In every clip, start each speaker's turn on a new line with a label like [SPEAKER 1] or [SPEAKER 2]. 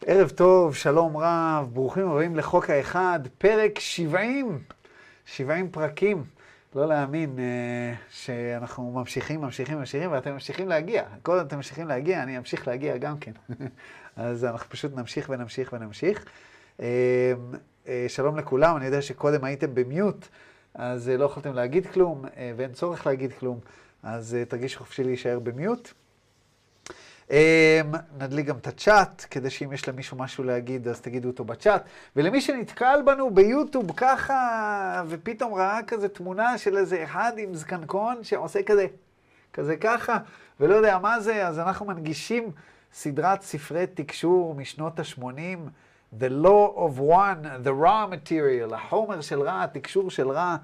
[SPEAKER 1] ערב טוב, שלום רב, ברוכים הבאים לחוק האחד, פרק 70, 70 פרקים. לא להאמין שאנחנו ממשיכים, ואתם ממשיכים להגיע. קודם אתם ממשיכים להגיע, אני אמשיך להגיע גם כן. אז אנחנו פשוט נמשיך. שלום לכולם, אני יודע שקודם הייתם במיוט, אז לא יכולתם להגיד כלום, ואין צורך להגיד כלום, אז תרגישו חופשי להישאר במיוט. נדליק גם את הצ'אט, כדי שאם יש למישהו משהו להגיד, אז תגידו אותו בצ'אט. ולמי שנתקל בנו ביוטיוב ככה, ופתאום ראה כזה תמונה של איזה אחד עם זקנקון שעושה כזה ככה, ולא יודע מה זה, אז אנחנו מנגישים סדרת ספרי תקשור משנות ה-80, The Law of One, The Raw Material, החומר של רע, התקשור של רע,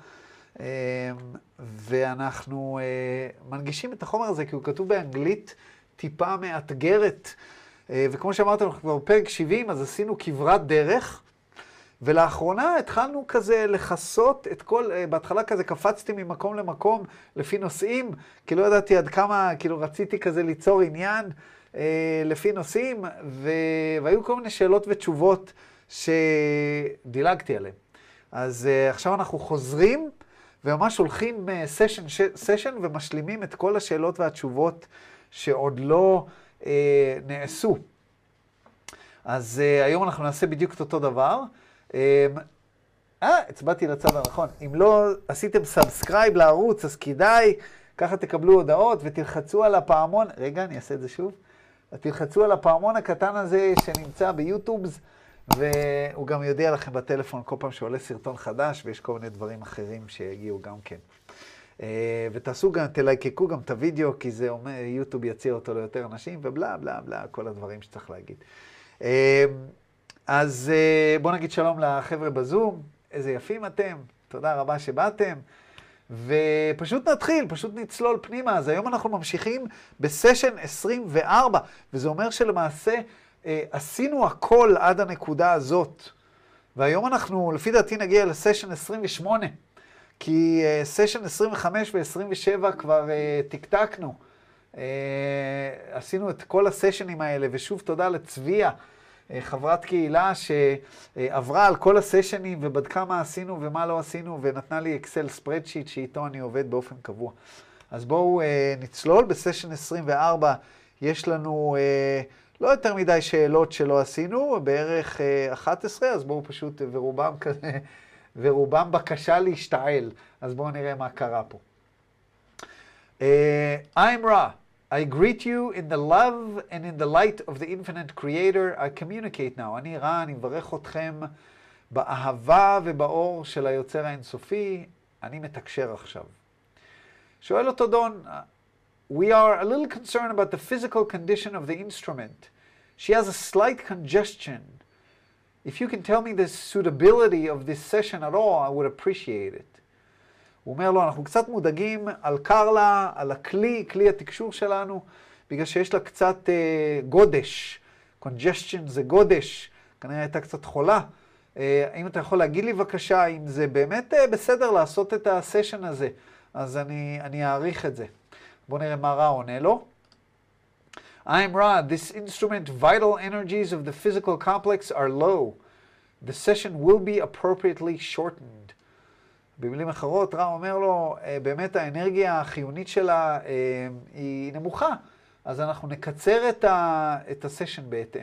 [SPEAKER 1] ואנחנו מנגישים את החומר הזה, כי הוא כתוב באנגלית, טיפה מאתגרת, וכמו שאמרתם, אנחנו כבר בפרק 70, אז עשינו כברת דרך, ולאחרונה התחלנו כזה לחסות את כל, בהתחלה כזה קפצתי ממקום למקום לפי נושאים, כי לא ידעתי עד כמה, כאילו רציתי כזה ליצור עניין לפי נושאים, והיו כל מיני שאלות ותשובות שדילגתי עליהן. אז עכשיו אנחנו חוזרים, וממש הולכים סשן ומשלימים את כל השאלות והתשובות שעוד לא נעשו. אז היום אנחנו נעשה בדיוק את אותו דבר. הצבעתי לצד הנכון. אם לא עשיתם סאבסקרייב לערוץ, אז כדאי, ככה תקבלו הודעות ותלחצו על הפעמון. רגע, אני אעשה את זה שוב. תלחצו על הפעמון הקטן הזה שנמצא ביוטיובס, והוא גם יודיע לכם בטלפון כל פעם שעולה סרטון חדש, ויש כל מיני דברים אחרים שיגיעו גם כן. ותעשו גם, תלייקקו גם את הוידאו, כי זה אומר, יוטיוב יציע אותו ליותר אנשים, ובלה בלה בלה, כל הדברים שצריך להגיד. אז בואו נגיד שלום לחבר'ה בזום, איזה יפים אתם, תודה רבה שבאתם, ופשוט נתחיל, פשוט נצלול פנימה. אז היום אנחנו ממשיכים בסשן 24, וזה אומר שלמעשה עשינו הכל עד הנקודה הזאת, והיום אנחנו, לפי דעתי, נגיע לסשן 28, כי סשן 25 ו-27 כבר תקתקנו. עשינו את כל הסשנים האלה, ושוב תודה לצביה, חברת קהילה שעברה על כל הסשנים ובדקה מה עשינו ומה לא עשינו, ונתנה לי אקסל ספרדשיט שאיתו אני עובד באופן קבוע. אז בואו נצלול. בסשן 24 יש לנו לא יותר מדי שאלות שלא עשינו, בערך 11, אז בואו פשוט, ורובם בקשה להשתעל. אז בואו נראה מה קרה פה. I'm Ra. I greet you in the love and in the light of the infinite creator. I communicate now. אני רע, אני מברך אתכם באהבה ובאור של היוצר האינסופי. אני מתקשר עכשיו. שואל אותו דון, we are a little concerned about the physical condition of the instrument. She has a slight congestion. If you can tell me the suitability of this session at all, I would appreciate it. הוא אומר לו, אנחנו קצת מודאגים על קרלה, על כלי התקשור שלנו, בגלל שיש לה קצת גודש. congestion זה גודש, כנראה הייתה קצת חולה. האם אתה יכול להגיד לי בבקשה, אם זה באמת בסדר לעשות את הסשן הזה, אז אני אעריך את זה. בואו נראה מה רע עונה לו. I'm Ra. This instrument, vital energies of the physical complex are low. The session will be appropriately shortened. במילים אחרות, רע אומר לו, באמת האנרגיה החיונית שלה היא נמוכה, אז אנחנו נקצר את הסשן בהתאם.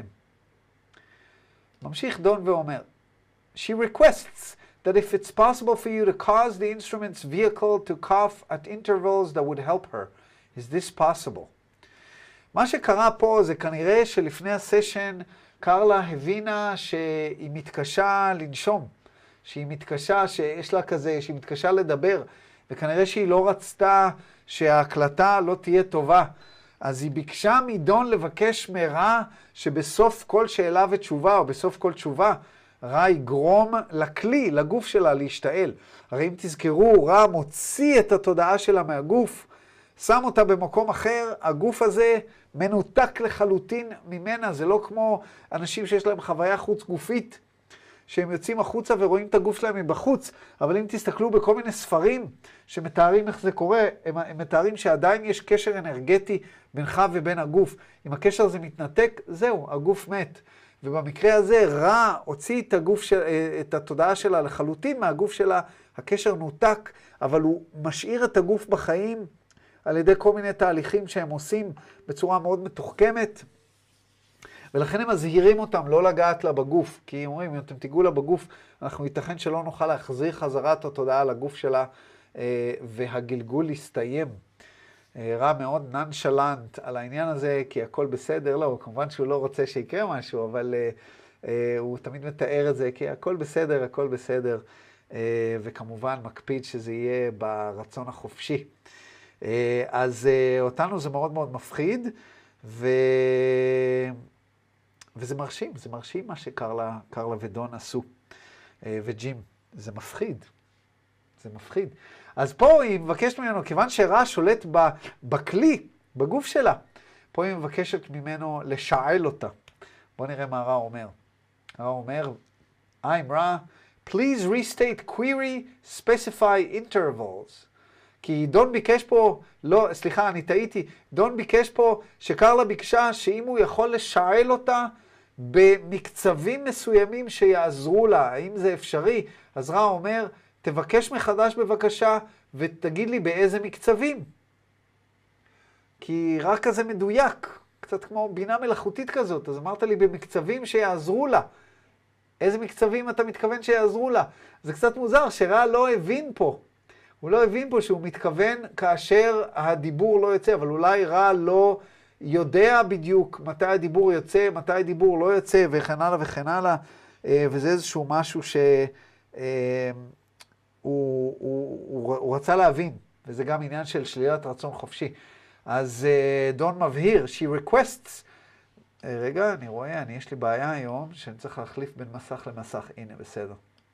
[SPEAKER 1] ממשיך דון ואומר, She requests that if it's possible for you to cause the instrument's vehicle to cough at intervals that would help her. Is this possible? מה שקרה פה זה כנראה שלפני הסשן קרלה הבינה שהיא מתקשה לנשום, שהיא מתקשה, שיש לה כזה, שהיא מתקשה לדבר, וכנראה שהיא לא רצתה שההקלטה לא תהיה טובה. אז היא ביקשה מדון לבקש מרע שבסוף כל שאלה ותשובה, או בסוף כל תשובה, רע יגרום לכלי, לגוף שלה להשתעל. הרי אם תזכרו, רע מוציא את התודעה שלה מהגוף, שם אותה במקום אחר, הגוף הזה מנותק לחלוטין ממנה. זה לא כמו אנשים שיש להם חוויה חוץ גופית, שהם יוצאים החוצה ורואים את הגוף שלהם מבחוץ, אבל אם תסתכלו בכל מיני ספרים שמתארים איך זה קורה, הם מתארים שעדיין יש קשר אנרגטי בינך ובין הגוף. אם הקשר הזה מתנתק, זהו, הגוף מת. ובמקרה הזה רע הוציא את התודעה שלה לחלוטין מהגוף שלה, הקשר נותק, אבל הוא משאיר את הגוף בחיים על ידי כל מיני תהליכים שהם עושים בצורה מאוד מתוחכמת, ולכן הם מזהירים אותם לא לגעת לה בגוף, כי הם אומרים, אם אתם תיגעו לה בגוף, אנחנו ייתכן שלא נוכל להחזיר חזרת התודעה לגוף שלה, והגלגול יסתיים. רע מאוד נונשלנט על העניין הזה, כי הכל בסדר, לא, כמובן שהוא לא רוצה שיקרה משהו, אבל הוא תמיד מתאר את זה, כי הכל בסדר, הכל בסדר, וכמובן מקפיד שזה יהיה ברצון החופשי. אז אותנו זה מאוד מאוד מפחיד, וזה מרשים, זה מרשים מה שקרלה ודון עשו, וג'ים, זה מפחיד, זה מפחיד. אז פה היא מבקשת ממנו, כיוון שרע שולט בכלי, בגוף שלה, פה היא מבקשת ממנו לשעל אותה. בואו נראה מה רע אומר. רע אומר, I'm רע, please restate query, specify intervals. כי דון ביקש פה, לא, סליחה, אני טעיתי, דון ביקש פה שקרלה ביקשה שאם הוא יכול לשעל אותה במקצבים מסוימים שיעזרו לה, האם זה אפשרי? אז רע אומר, תבקש מחדש בבקשה ותגיד לי באיזה מקצבים. כי רע כזה מדויק, קצת כמו בינה מלאכותית כזאת, אז אמרת לי במקצבים שיעזרו לה. איזה מקצבים אתה מתכוון שיעזרו לה? זה קצת מוזר שרע לא הבין פה. הוא לא הבין פה שהוא מתכוון כאשר הדיבור לא יוצא, אבל אולי רע לא יודע בדיוק מתי הדיבור יוצא, מתי הדיבור לא יוצא, וכן הלאה וכן הלאה, וזה איזשהו משהו הוא רצה להבין, וזה גם עניין של שלילת רצון חופשי. אז דון מבהיר, she requests, רגע, אני רואה, יש לי בעיה היום, שאני צריך להחליף בין מסך למסך, הנה, בסדר.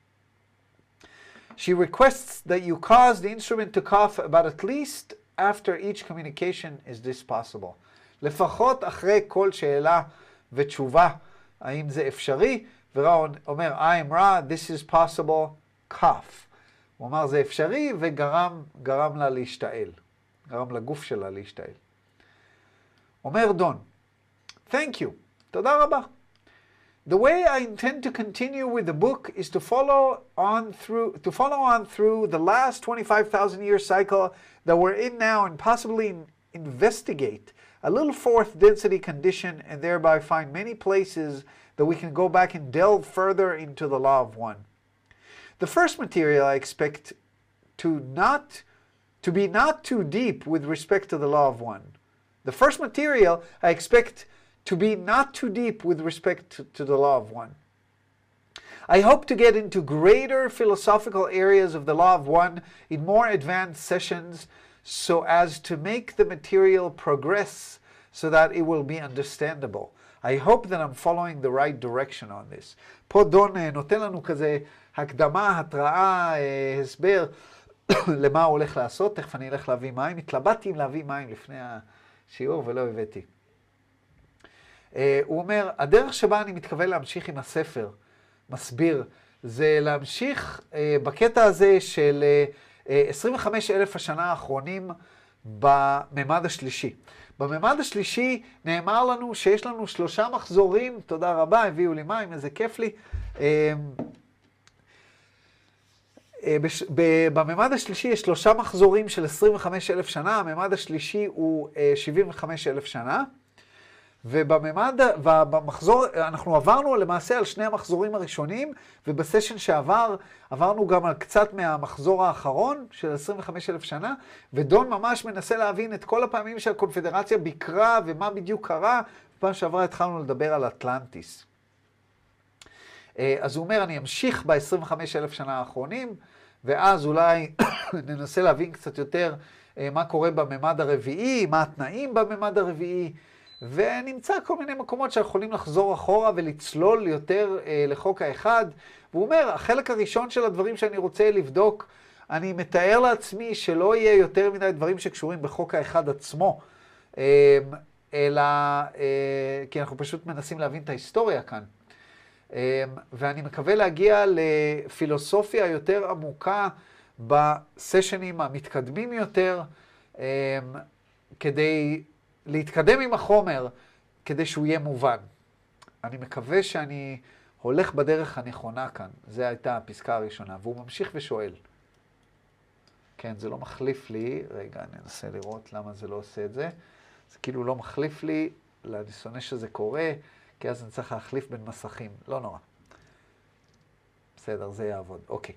[SPEAKER 1] She requests that you cause the instrument to cough about at least after each communication. Is this possible? לפחות אחרי כל שאלה ותשובה, האם זה אפשרי? ורע אומר, I am רע, this is possible, cough. הוא אמר, זה אפשרי, וגרם לה להשתעל. גרם לגוף שלה להשתעל. אומר דון, thank you, תודה רבה. The way I intend to continue with the book is to follow on through the last 25,000-year cycle that we're in now and possibly investigate a little fourth density condition and thereby find many places that we can go back and delve further into the law of one. The first material I expect to be not too deep with respect to the law of one. The first material I expect to be not too deep with respect to the law of one. I hope to get into greater philosophical areas of the law of one in more advanced sessions so as to make the material progress so that it will be understandable. I hope that I'm following the right direction on this. פה דון נותן לנו כזה הקדמה, התראה, הסבר למה הוא הולך לעשות. תכף אני אלך להביא מים. התלבטתי אם להביא מים לפני השיעור ולא הבאתי. הוא אומר, הדרך שבה אני מתכוון להמשיך עם הספר, מסביר, זה להמשיך בקטע הזה של 25,000 השנה האחרונים בממד השלישי. בממד השלישי נאמר לנו שיש לנו 3 מחזורים, תודה רבה, הביאו לי מים, איזה כיף לי. בממד השלישי יש 3 מחזורים של 25,000 שנה, הממד השלישי הוא 75,000 שנה. ובמחזור, אנחנו עברנו למעשה על 2 המחזורים הראשונים, ובסשן שעבר עברנו גם על קצת מהמחזור האחרון של 25,000 שנה, ודון ממש מנסה להבין את כל הפעמים שהקונפדרציה ביקרה ומה בדיוק קרה. בפעם שעברה התחלנו לדבר על אטלנטיס. אז הוא אומר, אני אמשיך ב-25,000 שנה האחרונים, ואז אולי ננסה להבין קצת יותר מה קורה בממד הרביעי, מה התנאים בממד הרביעי, ונמצא כל מיני מקומות שיכולים לחזור אחורה ולצלול יותר לחוק האחד. והוא אומר, החלק הראשון של הדברים שאני רוצה לבדוק, אני מתאר לעצמי שלא יהיה יותר מדי דברים שקשורים בחוק האחד עצמו, אלא כי אנחנו פשוט מנסים להבין את ההיסטוריה כאן. ואני מקווה להגיע לפילוסופיה יותר עמוקה בסשנים המתקדמים יותר, כדי להתקדם עם החומר, כדי שהוא יהיה מובן. אני מקווה שאני הולך בדרך הנכונה כאן. זו הייתה הפסקה הראשונה. והוא ממשיך ושואל. כן, זה לא מחליף לי. רגע, אני אנסה לראות למה זה לא עושה את זה. זה כאילו לא מחליף לי. אני שונא שזה קורה, כי אז אני צריך להחליף בין מסכים. לא נורא. בסדר, זה יעבוד. אוקיי.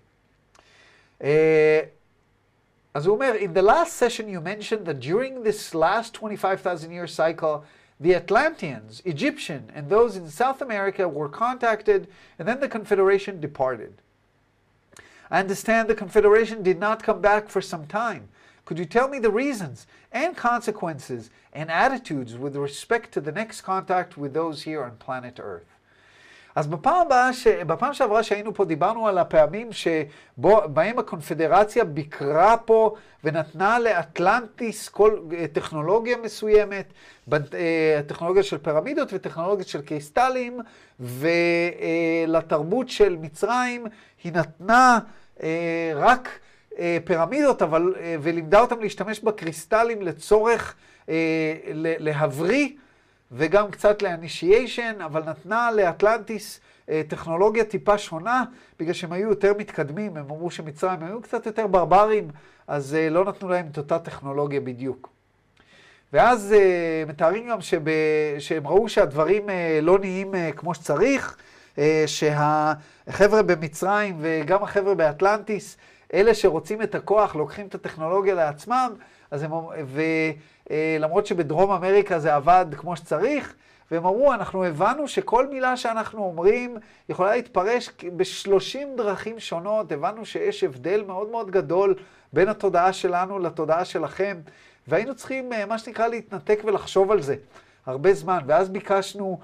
[SPEAKER 1] אז הוא אומר, in the last session you mentioned that during this last 25,000 year cycle, the Atlanteans, Egyptian, and those in South America were contacted, and then the Confederation departed. I understand the Confederation did not come back for some time. Could you tell me the reasons and consequences and attitudes with respect to the next contact with those here on planet Earth? אז בפעם שעברה שהיינו פה דיברנו על הפעמים שבהם הקונפדרציה ביקרה פה ונתנה לאטלנטיס כל טכנולוגיה מסוימת, טכנולוגיה של פירמידות וטכנולוגיה של קריסטלים, ולתרבות של מצרים היא נתנה רק פירמידות, ולימדה אותם להשתמש בקריסטלים לצורך להבריא, וגם קצת לאנישיישן, אבל נתנה לאטלנטיס טכנולוגיה טיפה שונה, בגלל שהם היו יותר מתקדמים, הם אמרו שמצרים היו קצת יותר ברברים, אז לא נתנו להם את אותה טכנולוגיה בדיוק. ואז מתארים גם שהם ראו שהדברים לא נהיים כמו שצריך, שהחבר'ה במצרים וגם החבר'ה באטלנטיס, אלה שרוצים את הכוח, לוקחים את הטכנולוגיה לעצמם, אז הם, למרות שבדרום אמריקה זה עבד כמו שצריך, והם אמרו, אנחנו הבנו שכל מילה שאנחנו אומרים יכולה להתפרש ב30 דרכים שונות, הבנו שיש הבדל מאוד מאוד גדול בין התודעה שלנו לתודעה שלכם, והיינו צריכים, מה שנקרא, להתנתק ולחשוב על זה הרבה זמן, ואז ביקשנו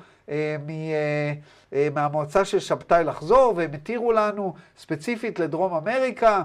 [SPEAKER 1] מהמועצה של שבתאי לחזור, והם התירו לנו ספציפית לדרום אמריקה.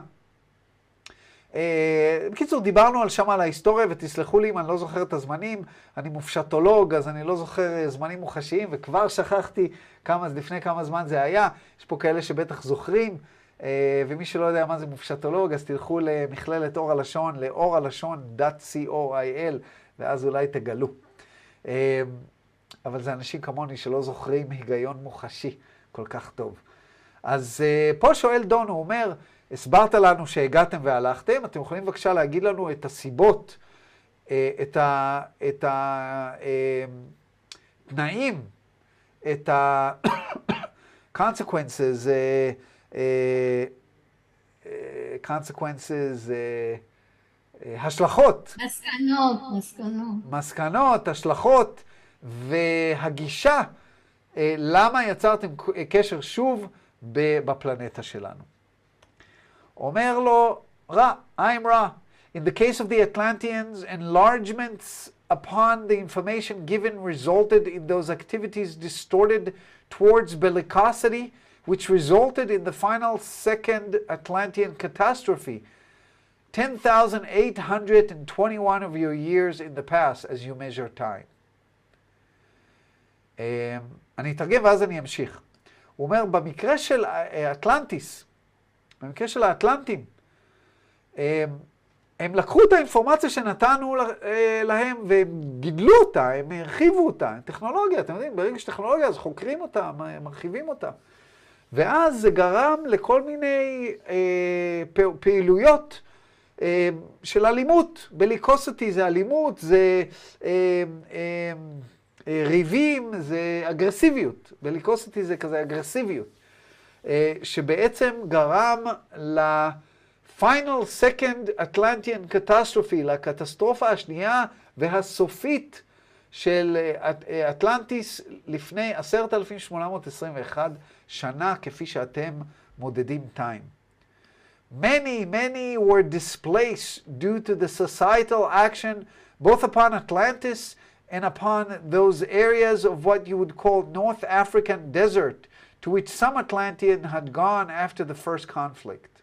[SPEAKER 1] בקיצור, דיברנו על ההיסטוריה, ותסלחו לי אם אני לא זוכר את הזמנים, אני מופשטולוג, אז אני לא זוכר זמנים מוחשיים, וכבר שכחתי לפני כמה זמן זה היה. יש פה כאלה שבטח זוכרים, ומי שלא יודע מה זה מופשטולוג, אז תלכו למכללת אור הלשון, לאורהלשון.co.il, ואז אולי תגלו. אבל זה אנשים כמוני שלא זוכרים היגיון מוחשי כל כך טוב. אז פה שואל דון, הוא אומר, הסברת לנו שהגעתם והלכתם, אתם יכולים בבקשה להגיד לנו את הסיבות, את התנאים, את consequences, השלכות. מסקנות, השלכות, והגישה, למה יצרתם קשר שוב בפלנטה שלנו. אומר לו, I'm Ra. In the case of the Atlanteans, enlargements upon the information given resulted in those activities distorted towards bellicosity, which resulted in the final second Atlantean catastrophe, 10,821 of your years in the past as you measure time. אני אתרגם ואז אני אמשיך. הוא אומר, במקרה של אטלנטיס, במקרה של האטלנטים, הם לקחו את האינפורמציה שנתנו להם והם גידלו אותה, הם הרחיבו אותה, טכנולוגיה, אתם יודעים, ברגע שטכנולוגיה אז חוקרים אותה, מרחיבים אותה. ואז זה גרם לכל מיני פעילויות של אלימות. בליקוסיטי זה אלימות, זה ריבים, זה אגרסיביות. בליקוסיטי זה כזה אגרסיביות. שבעצם גרם ל-Final Second Atlantean Catastrophe, לקטסטרופה השנייה והסופית של אטלנטיס לפני 10,821 שנה, כפי שאתם מודדים time. Many were displaced due to the societal action both upon Atlantis and upon those areas of what you would call North African desert, to which some Atlantean had gone after the first conflict.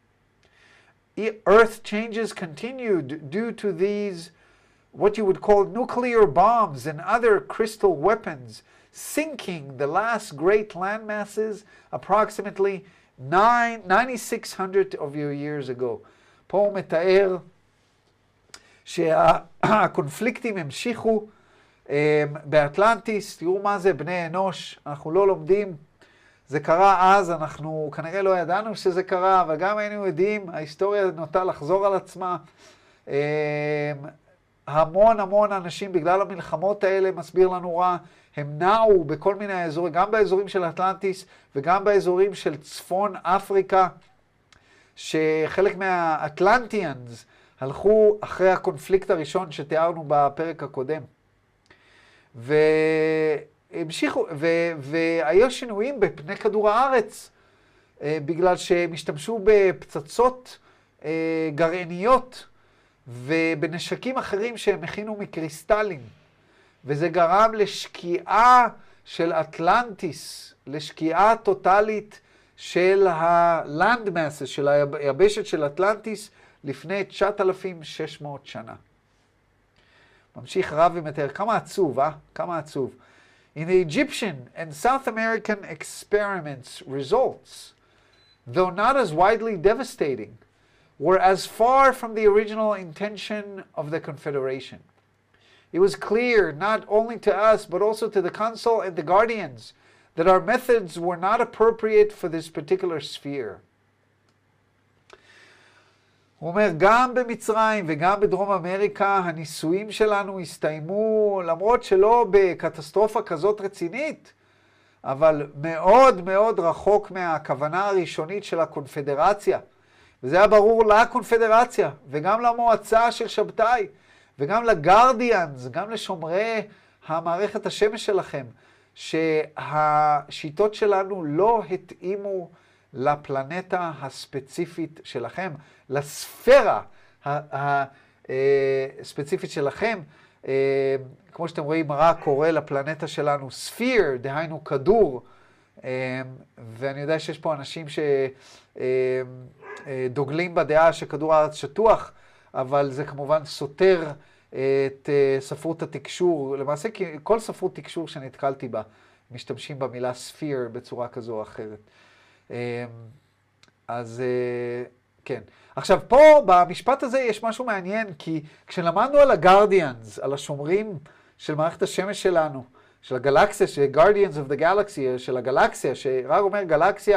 [SPEAKER 1] Earth changes continued due to these, what you would call nuclear bombs and other crystal weapons, sinking the last great land masses approximately 9,600 of your years ago. פה הוא מתאר שהקונפליקטים המשיכו באטלנטיס, תראו מה זה בני אנוש, אנחנו לא לומדים, זה קרה אז, אנחנו כנראה לא ידענו שזה קרה, אבל גם היינו יודעים, ההיסטוריה נוטה לחזור על עצמה. המון אנשים בגלל המלחמות האלה, מסביר לנו רע, הם נעו בכל מיני אזורים, גם באזורים של אטלנטיס וגם באזורים של צפון אפריקה, שחלק מהאטלנטיאנס הלכו אחרי הקונפליקט הראשון שתיארנו בפרק הקודם. והמשיכו, והיו שינויים בפני כדור הארץ, בגלל שהם השתמשו בפצצות גרעיניות ובנשקים אחרים שהם הכינו מקריסטלים. וזה גרם לשקיעה של אטלנטיס, לשקיעה טוטלית של הלנד מסס, של היבשת של אטלנטיס, לפני 9,600 שנה. ממשיך רב ומתאר, כמה עצוב, כמה עצוב. In the Egyptian and South American experiments, results, though not as widely devastating, were as far from the original intention of the Confederation. It was clear, not only to us, but also to the Council and the Guardians, that our methods were not appropriate for this particular sphere. הוא אומר, גם במצרים וגם בדרום אמריקה, הניסויים שלנו הסתיימו, למרות שלא בקטסטרופה כזאת רצינית, אבל מאוד רחוק מהכוונה הראשונית של הקונפדרציה. וזה היה ברור לקונפדרציה, וגם למועצה של שבתאי, וגם לגרדיאנס, גם לשומרי המערכת השמש שלכם, שהשיטות שלנו לא התאימו לפלנטה הספציפית שלכם, לספירה הספציפית שלכם. כמו שאתם רואים, רע קורא לפלנטה שלנו ספיר, דהיינו כדור, ואני יודע שיש פה אנשים שדוגלים בדעה שכדור הארץ שטוח, אבל זה כמובן סותר את ספרות התקשור. למעשה, כל ספרות תקשור שנתקלתי בה, משתמשים במילה ספיר בצורה כזו או אחרת. אז כן. עכשיו, פה במשפט הזה יש משהו מעניין, כי כשלמדנו על הגרדיאנס, על השומרים של מערכת השמש שלנו, של הגלקסיה, של Guardians of the Galaxy, של הגלקסיה, שרק אומר גלקסיה,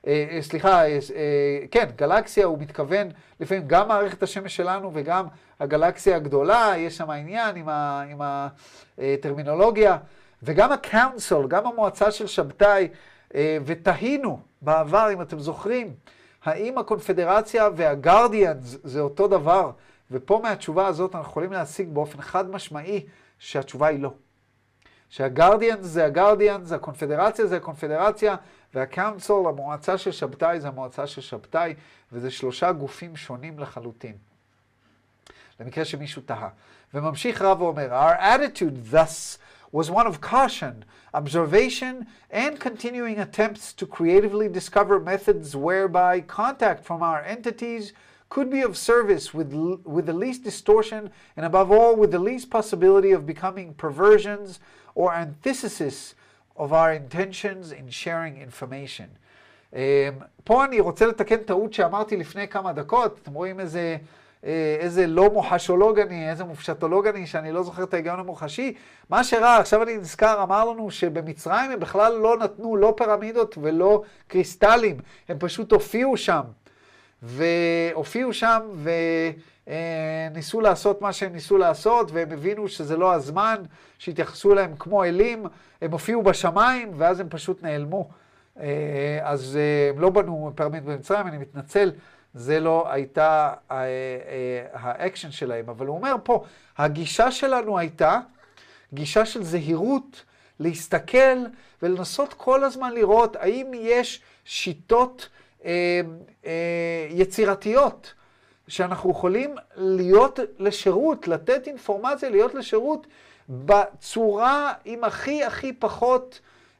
[SPEAKER 1] כן, גלקסיה הוא מתכוון לפעמים גם מערכת השמש שלנו וגם הגלקסיה הגדולה, יש שם העניין עם הטרמינולוגיה, וגם הקאונסל, גם המועצה של שבתאי, ותהינו בעבר, אם אתם זוכרים, האם הקונפדרציה והגרדיאנס זה אותו דבר, ופה מהתשובה הזאת אנחנו יכולים להשיג באופן חד משמעי שהתשובה היא לא. שהגרדיאנס זה הגרדיאנס, הקונפדרציה זה הקונפדרציה, והקאונסל, המועצה של שבתאי, זה המועצה של שבתאי, וזה שלושה גופים שונים לחלוטין. למקרה שמישהו תהה. וממשיך רב ואומר, Our attitude thus was one of caution, observation, and continuing attempts to creatively discover methods whereby contact from our entities could be of service with the least distortion, and above all, with the least possibility of becoming perversions or antithesis of our intentions in sharing information. פה אני רוצה לתקן טעות שאמרתי לפני כמה דקות. אתם רואים איזה לא מוחשולוג אני, איזה מופשטולוג אני, שאני לא זוכר את ההיגיון המוחשי. מה שראה, עכשיו אני נזכר, אמר לנו שבמצרים הם בכלל לא נתנו לא פירמידות ולא קריסטלים, הם פשוט הופיעו שם, וניסו לעשות מה שהם ניסו לעשות, והם הבינו שזה לא הזמן, שהתייחסו להם כמו אלים, הם הופיעו בשמיים, ואז הם פשוט נעלמו. אז הם לא בנו פירמיד במצרים, אני מתנצל, זה לא הייתה האקשן שלהם. אבל הוא אומר פה, הגישה שלנו הייתה גישה של זהירות, להסתכל ולנסות כל הזמן לראות האם יש שיטות יצירתיות, שאנחנו יכולים להיות לשירות, לתת אינפורמציה, להיות לשירות בצורה עם הכי פחות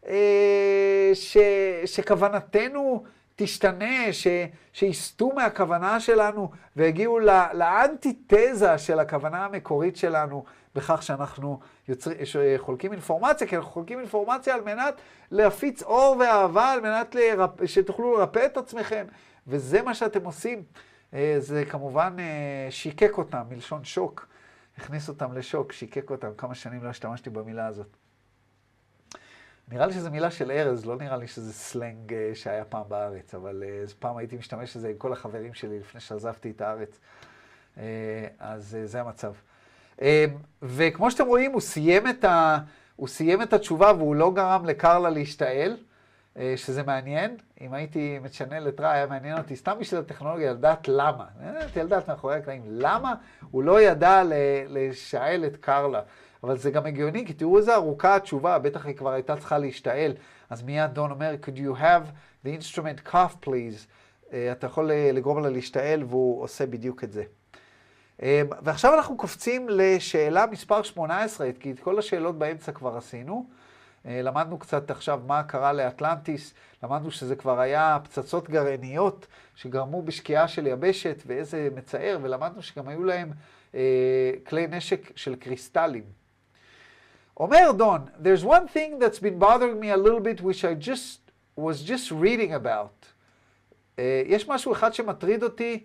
[SPEAKER 1] שכוונתנו תשתנה, שיסתו מהכוונה שלנו והגיעו לאנטיתזה של הכוונה המקורית שלנו, בכך שאנחנו חולקים אינפורמציה, כי אנחנו חולקים אינפורמציה על מנת להפיץ אור ואהבה, על מנת שתוכלו לרפא את עצמכם, וזה מה שאתם עושים. זה כמובן שיקק אותם, מלשון שוק. הכניס אותם לשוק, שיקק אותם, כמה שנים לא השתמשתי במילה הזאת. נראה לי שזו מילה של ארז, לא נראה לי שזה סלנג שהיה פעם בארץ, אבל פעם הייתי משתמש בזה עם כל החברים שלי לפני שעזבתי את הארץ. אז זה המצב. וכמו שאתם רואים, הוא סיים את התשובה והוא לא גרם לקרלה להשתעל, שזה מעניין. אם הייתי מצ'נל את רע, היה מעניין אותי סתם בשביל הטכנולוגיה, לדעת למה. לדעת מאחורי הקלעים, למה הוא לא ידע לשעל את קרלה. אבל זה גם הגיוני, כי תראו איזה ארוכה התשובה, בטח היא כבר הייתה צריכה להשתעל. אז מיד דון אומר, could you have the instrument cough please? אתה יכול לגרום לה להשתעל, והוא עושה בדיוק את זה. ועכשיו אנחנו קופצים לשאלה מספר 18, כי את כל השאלות באמצע כבר עשינו. למדנו קצת עכשיו מה קרה לאטלנטיס, למדנו שזה כבר היה פצצות גרעיניות שגרמו בשקיעה של יבשת, ואיזה מצער, ולמדנו שגם היו להם כלי נשק של קריסטלים. אומר דון, there's one thing that's been bothering me a little bit, which I was just reading about. יש משהו אחד שמטריד אותי,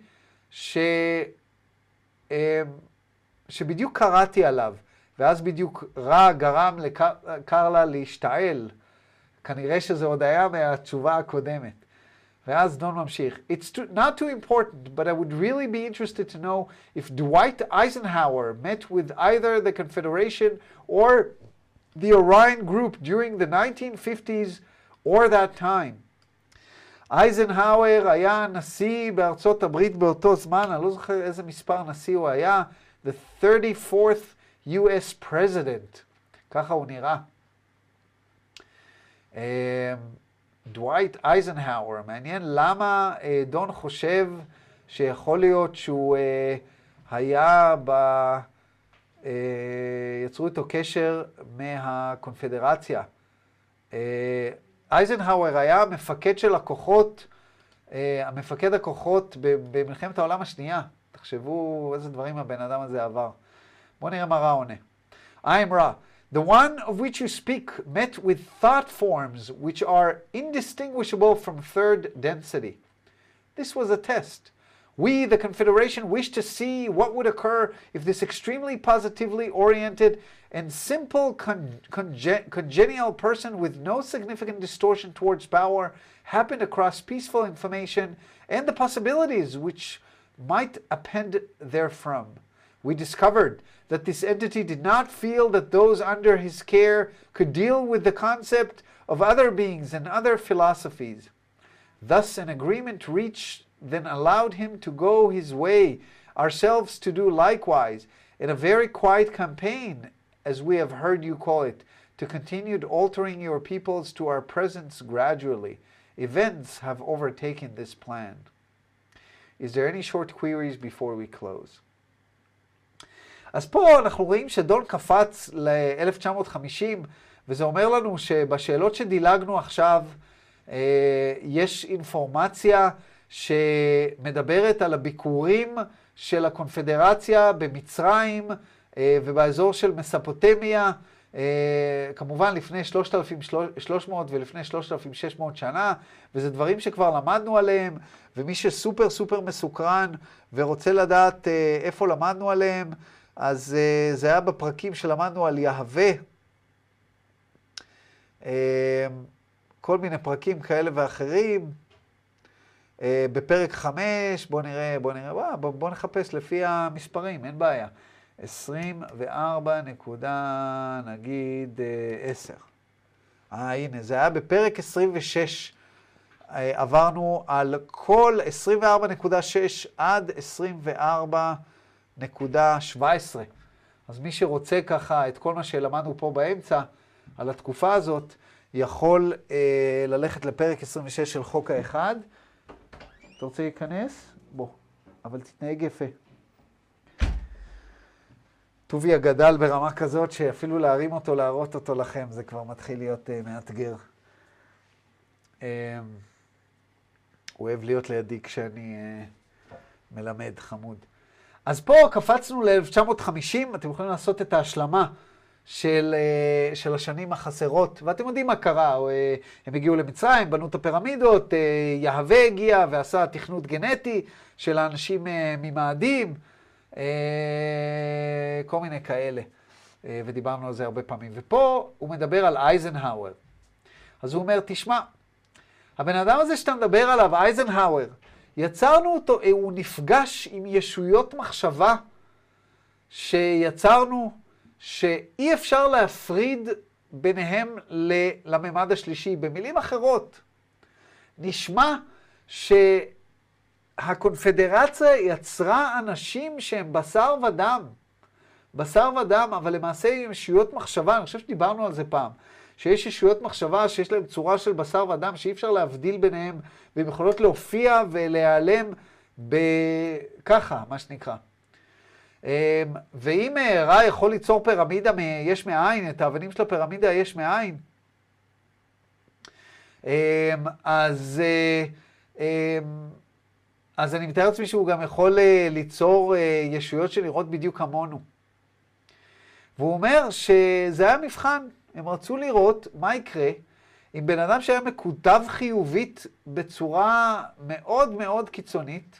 [SPEAKER 1] שבדיוק קראתי עליו, ואז בדיוק רע גרם לקרלה להשתעל. כנראה שזה עוד היה מהתשובה הקודמת. ואז דון ממשיך. It's not too important, but I would really be interested to know if Dwight Eisenhower met with either the Confederation or the Orion Group during the 1950s or that time. אייזנהאואר היה נשיא בארצות הברית באותו זמן, אני לא זוכר איזה מספר נשיא הוא היה, the 34th US President, ככה הוא נראה. דווייט אייזנהאואר, מעניין למה דון חושב שיכול להיות שהוא היה יצרו איתו קשר מהקונפדרציה. אייזנהאואר היה מפקד של הכוחות, המפקד הכוחות במלחמת העולם השנייה. תחשבו איזה דברים הבן אדם הזה עבר. בואו נראה מה רע עונה. I'm Ra. The one of which you speak met with thought forms which are indistinguishable from third density. This was a test. We, the Confederation, wish to see what would occur if this extremely positively oriented and simple congenial person with no significant distortion towards power happened across peaceful information and the possibilities which might append therefrom. We discovered that this entity did not feel that those under his care could deal with the concept of other beings and other philosophies. Thus, an agreement reached then allowed him to go his way, ourselves to do likewise, in a very quiet campaign, as we have heard you call it, to continue altering your peoples to our presence gradually. Events have overtaken this plan. Is there any short queries before we close? אז פה אנחנו רואים שדון קפץ ל-1950, וזה אומר לנו שבשאלות שדילגנו עכשיו, יש אינפורמציה שמדברת על הביקורים של הקונפדרציה במצרים ובאזור של מספוטמיה, כמובן לפני 3,300 ולפני 3,600 שנה, וזה דברים שכבר למדנו עליהם, ומי שסופר סופר מסוקרן ורוצה לדעת איפה למדנו עליהם, אז זה היה בפרקים שלמדנו על יהווה, כל מיני פרקים כאלה ואחרים. בפרק 5, בוא נחפש לפי המספרים, אין בעיה. 24 נקודה, נגיד 10. הנה, זה היה בפרק 26. עברנו על כל 24.6 עד 24.17. אז מי שרוצה ככה את כל מה שלמדנו פה באמצע, על התקופה הזאת, יכול ללכת לפרק 26 של חוק האחד. אתה רוצה להיכנס? בוא, אבל תתנהג יפה. טובי הגדל ברמה כזאת שאפילו להרים אותו, להראות אותו לכם, זה כבר מתחיל להיות מאתגר. הוא אוהב להיות לידי כשאני מלמד, חמוד. אז פה קפצנו ל-1950, אתם יכולים לעשות את ההשלמה של השנים החסרות, ואתם יודעים מה קרה, הם הגיעו למצרים, בנו את הפירמידות, יהווה הגיע ועשה תכנות גנטי של האנשים ממאדים, כל מיני כאלה, ודיברנו על זה הרבה פעמים. ופה הוא מדבר על אייזנהאואר. אז הוא אומר, תשמע, הבן אדם הזה שאתה מדבר עליו, אייזנהאואר, יצרנו אותו, הוא נפגש עם ישויות מחשבה שיצרנו, שאי אפשר להפריד ביניהם לממד השלישי. במילים אחרות, נשמע שהקונפדרציה יצרה אנשים שהם בשר ודם, בשר ודם, אבל למעשה עם ישויות מחשבה. אני חושב שדיברנו על זה פעם, שיש ישויות מחשבה שיש להם צורה של בשר ודם, שאי אפשר להבדיל ביניהם, והם יכולות להופיע ולהיעלם ככה, מה שנקרא. ואם רע יכול ליצור פירמידה יש מאין, את האבנים של הפירמידה יש מאין, אז אני מתאר לעצמי שהוא גם יכול ליצור ישויות שנראות בדיוק כמונו. והוא אומר שזה היה מבחן, הם רצו לראות מה יקרה אם בן אדם שהיה מקוטב חיובית בצורה מאוד מאוד קיצונית,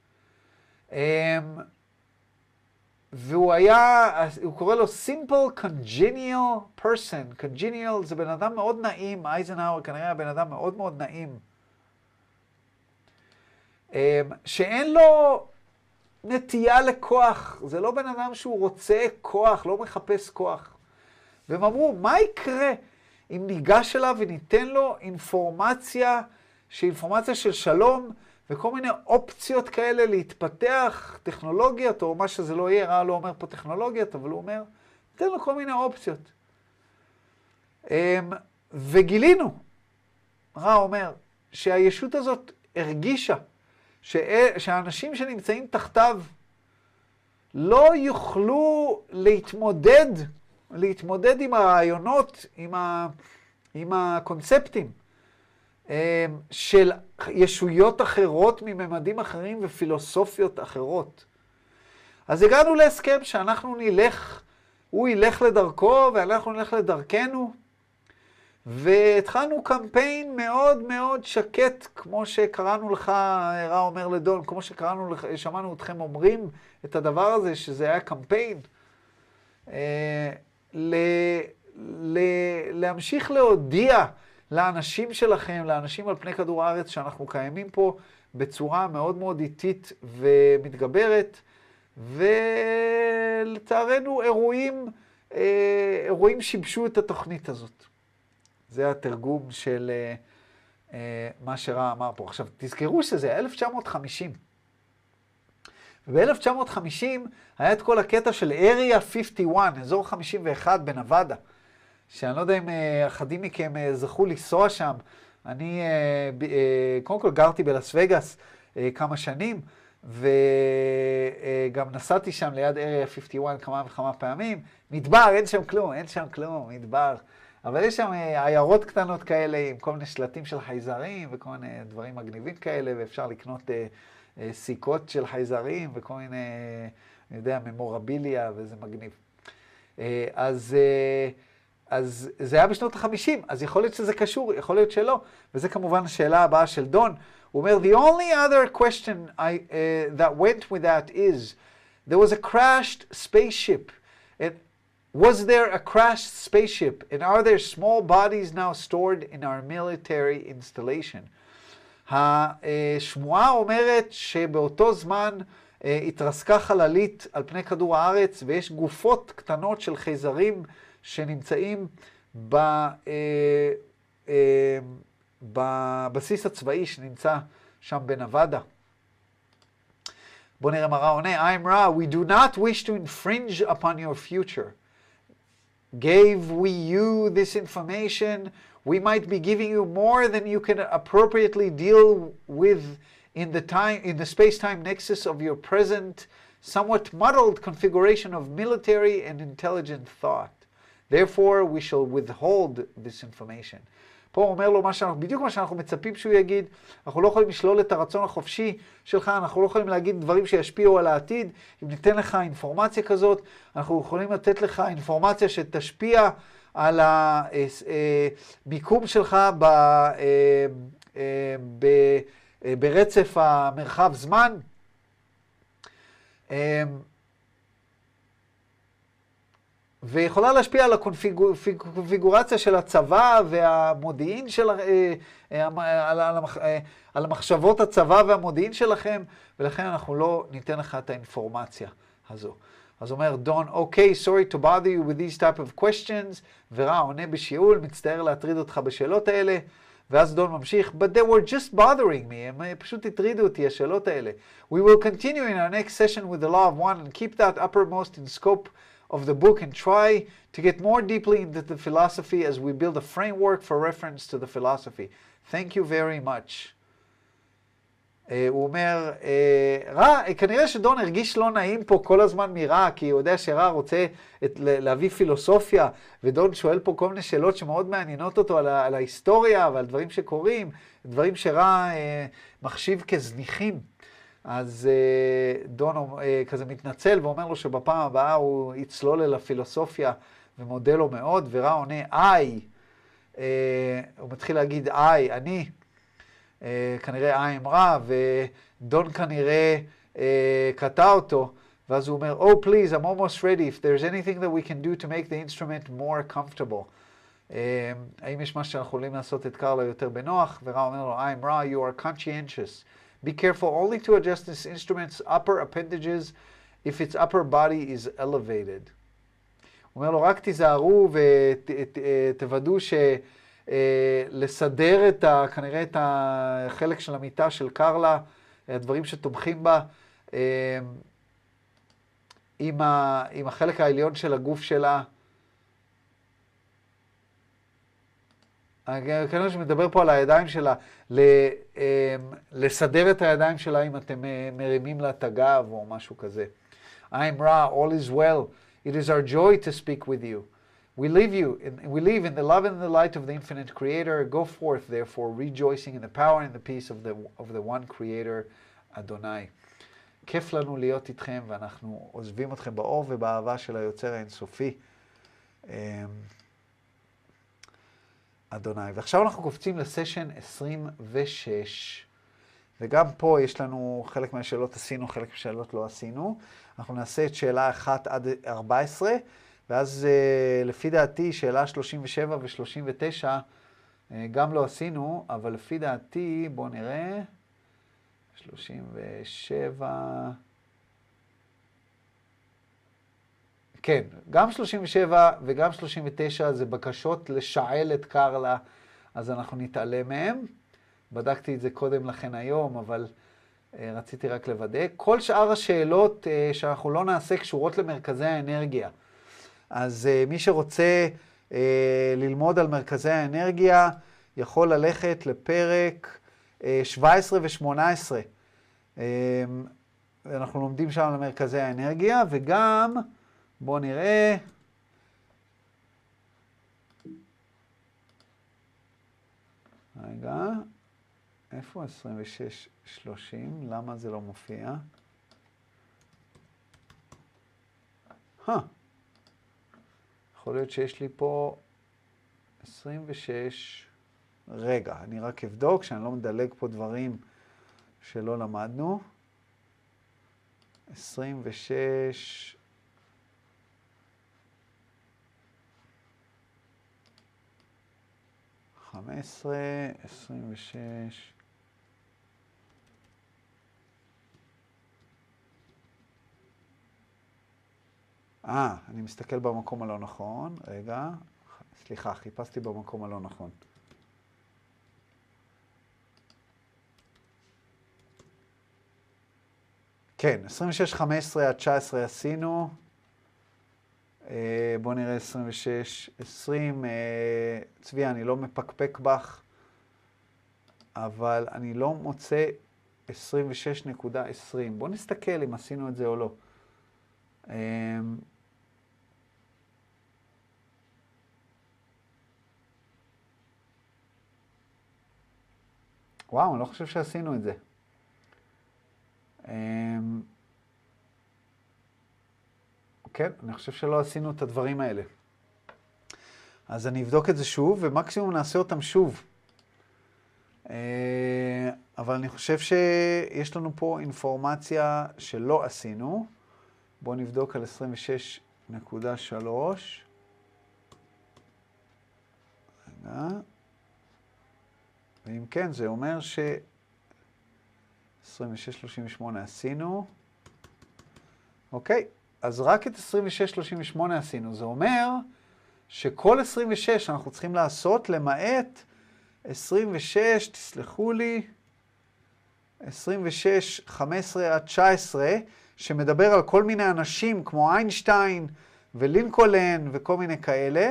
[SPEAKER 1] והוא היה, הוא קורא לו simple congenial person. congenial זה בן אדם מאוד נעים, אייזנהאואר כנראה היה בן אדם מאוד מאוד נעים, שאין לו נטייה לכוח, זה לא בן אדם שהוא רוצה כוח, לא מחפש כוח. והם אמרו, מה יקרה אם ניגש אליו וניתן לו אינפורמציה, שאינפורמציה של שלום, וכל מיני אופציות כאלה להתפתח, טכנולוגיות, או מה שזה לא יהיה, רע לא אומר פה טכנולוגיות, אבל הוא אומר, ניתן לו כל מיני אופציות. וגילינו, רע אומר, שהישות הזאת הרגישה, שהאנשים שנמצאים תחתיו לא יוכלו להתמודד עם הרעיונות, עם הקונספטים של ישויות אחרות מממדים אחרים ופילוסופיות אחרות. אז הגענו להסכם שאנחנו נלך, הוא ילך לדרכו ואנחנו נלך לדרכנו, והתחלנו קמפיין מאוד מאוד שקט, כמו שקראנו לך, רע אומר לדון, כמו שקראנו לך, שמענו אתכם אומרים את הדבר הזה, שזה היה קמפיין, להמשיך להודיע לאנשים שלכם, לאנשים על פני כדור הארץ, שאנחנו קיימים פה בצורה מאוד מאוד איטית ומתגברת, ולצערנו אירועים שיבשו את התוכנית הזאת. זה התרגום של מה שרע אמר פה. עכשיו, תזכרו שזה 1950. וב-1950 היה את כל הקטע של Area 51, אזור 51 בנבדה, שאני לא יודע אם אחדים מכם זכו לנסוע שם. אני קודם כל גרתי בלס וגאס כמה שנים, וגם נסעתי שם ליד Area 51 כמה וכמה פעמים. מדבר, אין שם כלום, מדבר. אבל יש שם עיירות קטנות כאלה עם כל מיני שלטים של חייזרים וכל מיני דברים מגניבים כאלה, ואפשר לקנות סיכות של חייזרים וכל מיני, אני יודע, ממורביליה, וזה מגניב. אז זה היה בשנות ה-50, אז יכול להיות שזה קשור, יכול להיות שלא, וזה כמובן השאלה הבאה של דון. הוא אומר, the only other question that went with that is, there was a crashed spaceship. Was there a crashed spaceship, and are there small bodies now stored in our military installation? השמועה אומרת שבאותו זמן התרסקה חללית על פני כדור הארץ, ויש גופות קטנות של חייזרים שנמצאים בבסיס הצבאי שנמצא שם בנבדה. בוא נראה מה רע עונה. I'm Ra, we do not wish to infringe upon your future. Gave we you this information, we might be giving you more than you can appropriately deal with in the space-time nexus of your present, somewhat muddled configuration of military and intelligent thought. Therefore, we shall withhold this information. פה הוא אומר לו בדיוק מה שאנחנו מצפים שהוא יגיד. אנחנו לא יכולים לשלול את הרצון החופשי שלך, אנחנו לא יכולים להגיד דברים שישפיעו על העתיד. אם ניתן לך אינפורמציה כזאת, אנחנו יכולים לתת לך אינפורמציה שתשפיע על המיקום שלך ברצף המרחב זמן. ויכולה להשפיע על הקונפיגורציה של הצבא והמודיעין של, על המחשבות הצבא והמודיעין שלכם, ולכן אנחנו לא ניתן לך את האינפורמציה הזו. אז אומר דון, אוקיי, sorry to bother you with these type of questions, ורע עונה בשיעול, מצטער להטריד אותך בשאלות האלה, ואז דון ממשיך, but they were just bothering me, הם פשוט הטרידו אותי, השאלות האלה. We will continue in our next session with the law of one and keep that uppermost in scope of the book and try to get more deeply into the philosophy as we build a framework for reference to the philosophy. Thank you very much. הוא אומר, כנראה שדון הרגיש לא נעים פה כל הזמן מרע, כי הוא יודע שרע רוצה להביא פילוסופיה, ודון שואל פה כל מיני שאלות שמאוד מעניינות אותו על ההיסטוריה ועל דברים שקורים, דברים שרע מחשיב כזניחים. אז דון כזה מתנצל ואומר לו שבפעם הבאה הוא יצלול אל הפילוסופיה ומודה לו מאוד, ורע עונה, הוא מתחיל להגיד, אני. כנראה I'm רע, ודון כנראה קטע אותו, ואז הוא אומר, oh please, I'm almost ready, if there's anything that we can do to make the instrument more comfortable. האם יש משהו שאנחנו יכולים לעשות את קרלה יותר בנוח? ורע אומר לו, I'm רע, you are conscientious. Be careful only to adjust this instrument's upper appendages if its upper body is elevated. הוא אומר לו, רק תיזהרו ותוודאו לסדר כנראה את החלק של המיטה של קרלה, הדברים שתומכים בה, עם החלק העליון של הגוף שלה. כנראה שמדבר פה על הידיים שלה, לסדר את הידיים שלה אם אתם מרימים לה את הגב או משהו כזה. I'm Ra, all is well. It is our joy to speak with you. We live in the love and the light of the infinite creator. Go forth, therefore, rejoicing in the power and the peace of the one creator, Adonai. כיף לנו להיות איתכם, ואנחנו עוזבים אתכם באור ובאהבה של היוצר האינסופי, אדוני. ועכשיו אנחנו קופצים לסשן 26, וגם פה יש לנו חלק מהשאלות עשינו, חלק מהשאלות לא עשינו. אנחנו נעשה את שאלה 1 עד 14, ואז לפי דעתי שאלה 37 ו-39 גם לא עשינו, אבל לפי דעתי, בואו נראה, 37, כן, גם 37 וגם 39 זה בקשות לשעל את קרלה, אז אנחנו נתעלם מהם. בדקתי את זה קודם לכן היום, אבל רציתי רק לוודא. כל שאר השאלות שאנחנו לא נעשה קשורות למרכזי האנרגיה. אז מי שרוצה ללמוד על מרכזי האנרגיה, יכול ללכת לפרק 17 ו-18. אנחנו לומדים שם על מרכזי האנרגיה, וגם, בואו נראה, רגע, איפה 26-30? למה זה לא מופיע? יכול להיות שיש לי פה 26, רגע, אני רק אבדוק שאני לא מדלג פה דברים שלא למדנו. 26, חמש עשרה, 26, אני מסתכל במקום הלא נכון, רגע, סליחה, חיפשתי במקום הלא נכון. כן, 26, 15 עד 19 עשינו. בואו נראה 26, 20. צבי, אני לא מפקפק בך, אבל אני לא מוצא 26.20. בואו נסתכל אם עשינו את זה או לא. וואו, אני לא חושב שעשינו את זה. כן, אני חושב שלא עשינו את הדברים האלה. אז אני אבדוק את זה שוב, ומקסימום נעשה אותם שוב. אבל אני חושב שיש לנו פה אינפורמציה שלא עשינו. בואו נבדוק על 26.3. ואם כן, זה אומר ש... 26-38 עשינו. אוקיי, אז רק את 26-38 עשינו. זה אומר שכל 26 אנחנו צריכים לעשות למעט 26, תסלחו לי, 26, 15 עד 19, שמדבר על כל מיני אנשים כמו איינשטיין ולינקולן וכל מיני כאלה,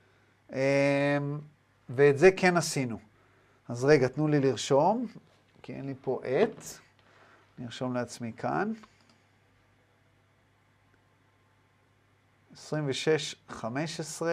[SPEAKER 1] ואת זה כן עשינו. אז רגע, תנו לי לרשום, כי אין לי פה את. נרשום לעצמי כאן. 26, 15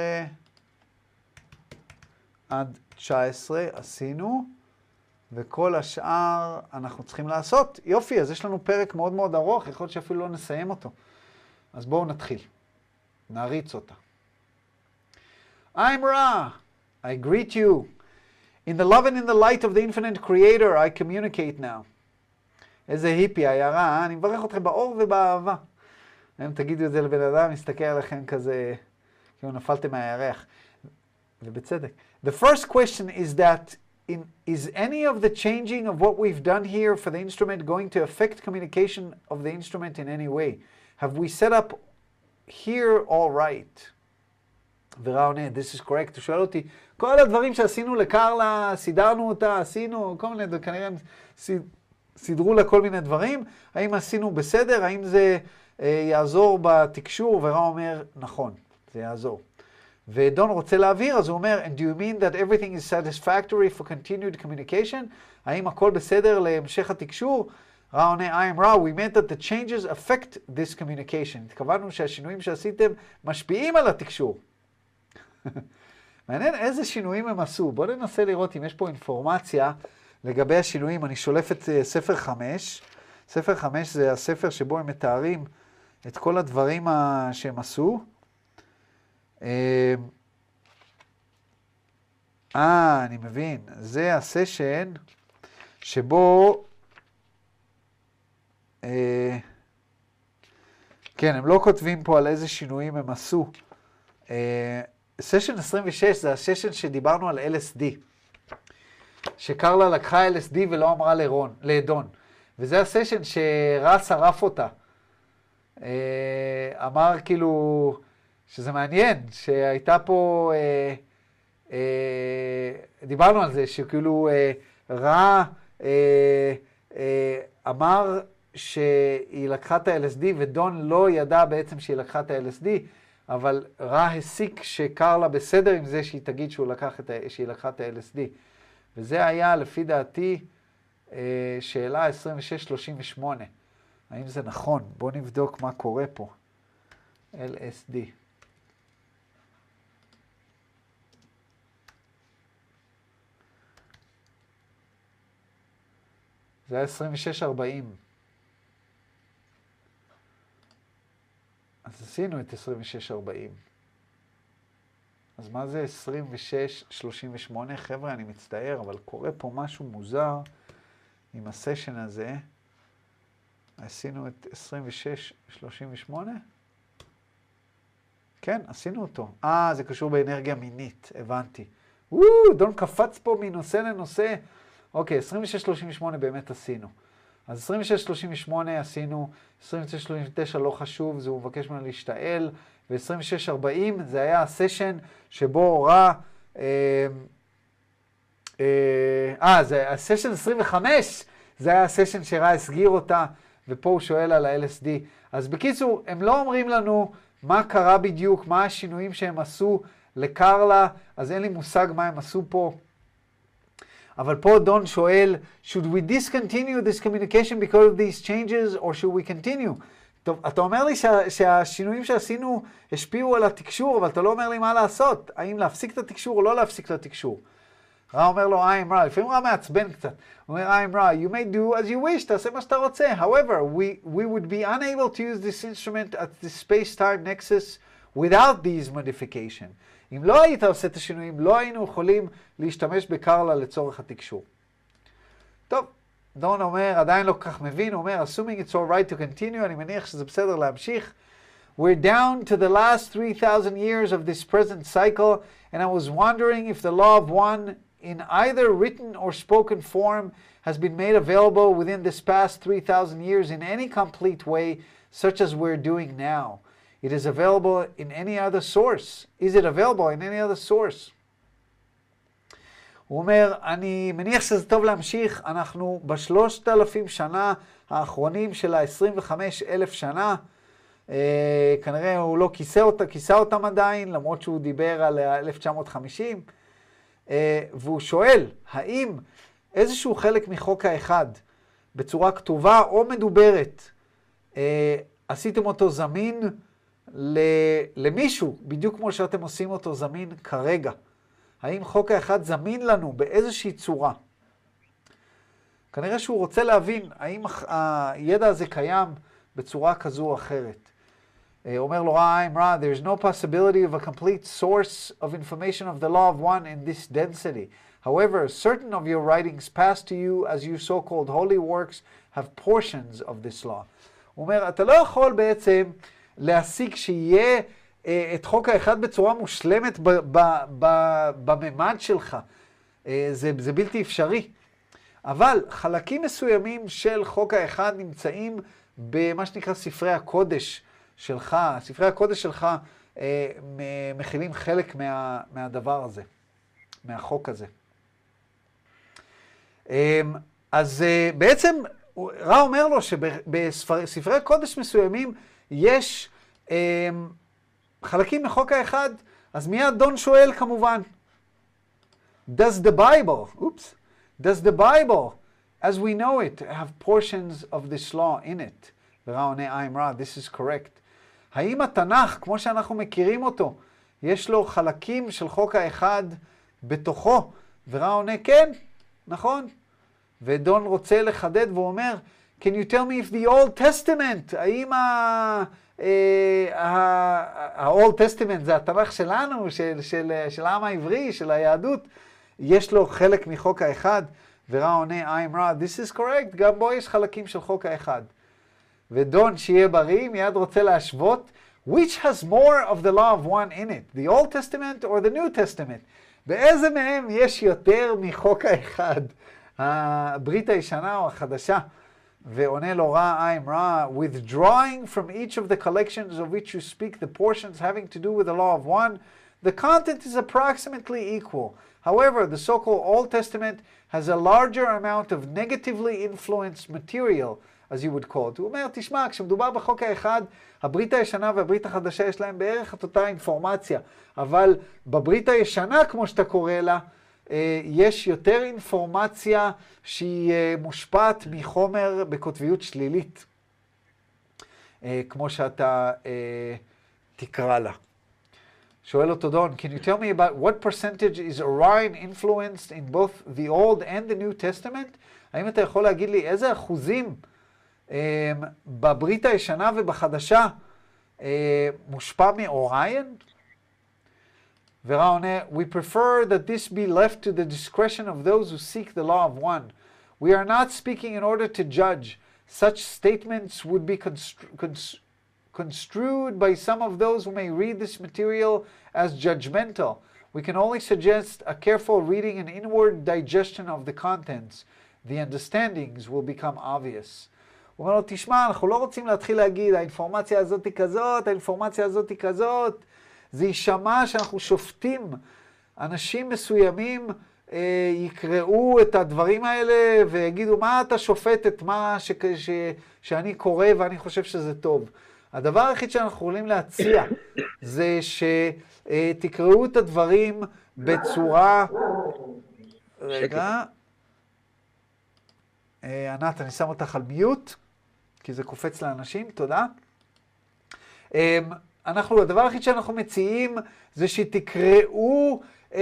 [SPEAKER 1] עד 19 עשינו, וכל השאר אנחנו צריכים לעשות. יופי, אז יש לנו פרק מאוד מאוד ארוך, יכול להיות שאפילו לא נסיים אותו. אז בואו נתחיל. נריץ אותה. I'm Ra. I greet you. In the love and in the light of the infinite creator, I communicate now. איזה היפי היה רע, אני מברך אתכם באור ובאהבה. אם תגידו את זה לבן אדם, מסתכל עליכם כזה, כאילו נפלתם מהירח. ובצדק. The first question is that, is any of the changing of what we've done here for the instrument going to affect communication of the instrument in any way? Have we set up here all right? ורע עונה, this is correct, הוא שואל אותי, כל הדברים שעשינו לקרלה, סידרנו אותה, עשינו, כל מיני, כנראה סידרו לה כל מיני דברים, האם עשינו בסדר, האם זה יעזור בתקשור, ורע אומר, נכון, זה יעזור. ודון רוצה להבהיר, אז הוא אומר, and do you mean that everything is satisfactory for continued communication? האם הכל בסדר להמשך התקשור? רע עונה, I am Ra, we meant that the changes affect this communication. התכוונו שהשינויים שעשיתם משפיעים על התקשור. מעניין איזה שינויים הם עשו. בואו ננסה לראות אם יש פה אינפורמציה לגבי השינויים. אני שולף את ספר 5. ספר 5 זה הספר שבו הם מתארים את כל הדברים שהם עשו. אני מבין. זה הסשן שבו... כן, הם לא כותבים פה על איזה שינויים הם עשו. סשן 26 זה הסשן שדיברנו על LSD. שקרלה לקחה LSD ולא אמרה לדון. וזה הסשן שרע שרף אותה. אמר כאילו שזה מעניין, שהייתה פה, דיברנו על זה, שכאילו רע אמר שהיא לקחה את ה-LSD, ודון לא ידע בעצם שהיא לקחה את ה-LSD, אבל רע הסיק שקרלה בסדר עם זה שהיא תגיד שהיא לקחה את ה-LSD. וזה היה, לפי דעתי, שאלה 26-38. האם זה נכון? בואו נבדוק מה קורה פה. LSD. זה היה 26-40. אז עשינו את 26-40. אז מה זה 26-38? חבר'ה, אני מצטער, אבל קורה פה משהו מוזר עם הסשן הזה. עשינו את 26-38? כן, עשינו אותו. זה קשור באנרגיה מינית, הבנתי. דון קפץ פה מנושא לנושא. אוקיי, 26-38 באמת עשינו. אז 26-38 עשינו, 26-39 לא חשוב, זה הוא מבקש ממנו להשתעל, ו-26-40 זה היה הסשן שבו רע, זה הסשן 25, זה היה הסשן שרע הסגיר אותה, ופה הוא שואל על ה-LSD. אז בקיצור, הם לא אומרים לנו מה קרה בדיוק, מה השינויים שהם עשו לקרלה, אז אין לי מושג מה הם עשו פה. אבל פה דון שואל, should we discontinue this communication because of these changes, or should we continue? טוב, אתה אומר לי שהשינויים שעשינו השפיעו על התקשור, אבל אתה לא אומר לי מה לעשות. האם להפסיק את התקשור או לא להפסיק את התקשור? רע אומר לו, I am Ra. לפעמים רע מעצבן קצת. הוא אומר, I am Ra, you may do as you wish, תעשה מה שאתה רוצה. However, we would be unable to use this instrument at the space-time nexus without these modifications. אם לא היית עושה את השינויים, לא היינו יכולים להשתמש בקרלה לצורך התקשור. טוב, דון אומר, עדיין לא כך מבין, הוא אומר, assuming it's all right to continue, אני מניח שזה בסדר להמשיך. We're down to the last 3,000 years of this present cycle, and I was wondering if the law of one, in either written or spoken form, has been made available within this past 3,000 years in any complete way, such as we're doing now. It is available in any other source. Is it available in any other source? הוא אומר, אני מניח שזה טוב להמשיך, אנחנו ב3,000 שנה האחרונים של ה-25,000 שנה, כנראה הוא לא כיסה אותם עדיין, למרות שהוא דיבר על 1950, והוא שואל, האם איזשהו חלק מחוק האחד, בצורה כתובה או מדוברת, עשיתם אותו זמין למישהו, בדיוק כמו שאתם עושים אותו זמין כרגע? האם חוק האחד זמין לנו באיזושהי צורה? כנראה שהוא רוצה להבין האם הידע הזה קיים בצורה כזו או אחרת. אומר לו רעיים רע, there is no possibility of a complete source of information of the law of one in this density. However, certain of your writings passed to you as you so-called holy works have portions of this law. הוא אומר, אתה לא יכול בעצם להשיג שיהיה את חוק האחד בצורה מושלמת בממד שלך. זה בלתי אפשרי. אבל חלקים מסוימים של חוק האחד נמצאים במה שנקרא ספרי הקודש שלך. ספרי הקודש שלך מכילים חלק מהדבר הזה, מהחוק הזה. אז בעצם רע אומר לו שבספרי קודש מסוימים יש חלקים מחוק האחד, אז מיד דון שואל כמובן, does the Bible, as we know it, have portions of this law in it? ורע עונה, I'm right, this is correct. האם התנ"ך, כמו שאנחנו מכירים אותו, יש לו חלקים של חוק האחד בתוכו? ורע עונה, כן, נכון. ודון רוצה לחדד ואומר, can you tell me if the Old Testament, האם ה-Old Testament זה התנ"ך שלנו, של העם העברי, של היהדות, יש לו חלק מחוק האחד? ורע עונה, I'm right, this is correct, גם בו יש חלקים של חוק האחד. ודון שיהיה בריא מיד רוצה להשוות, which has more of the law of one in it, the Old Testament or the New Testament? באיזה מהם יש יותר מחוק האחד? הברית הישנה או החדשה? ועונה לו רע, I'm רע, withdrawing from each of the collections of which you speak the portions having to do with the law of one, the content is approximately equal. However, the so-called Old Testament has a larger amount of negatively influenced material, as you would call it. הוא אומר, תשמע, כשמדובר בחוק האחד, הברית הישנה והברית החדשה יש להם בערך את אותה אינפורמציה, אבל בברית הישנה, כמו שאתה קורא לה, יש יותר אינפורמציה שהיא מושפעת מחומר בקוטביות שלילית, כמו שאתה תקרא לה. שואל אותו דון, can you tell me about what percentage is Orion influenced in both the Old and the New Testament? האם אתה יכול להגיד לי איזה אחוזים בברית הישנה ובחדשה מושפע מאוריין? ורע עונה, we prefer that this be left to the discretion of those who seek the law of one. We are not speaking in order to judge. Such statements would be construed by some of those who may read this material as judgmental. We can only suggest a careful reading and inward digestion of the contents. The understandings will become obvious. הוא אומר לו, תשמע, אנחנו לא רוצים להתחיל להגיד, האינפורמציה הזאת היא כזאת, האינפורמציה הזאת היא כזאת. זה יישמע שאנחנו שופטים. אנשים מסוימים יקראו את הדברים האלה ויגידו, מה אתה שופט את מה שאני קורא ואני חושב שזה טוב. הדבר היחיד שאנחנו יכולים להציע זה שתקראו את הדברים בצורה... רגע. ענת, אני שם אותך על מיוט, כי זה קופץ לאנשים, תודה. הדבר היחיד שאנחנו מציעים זה שתקראו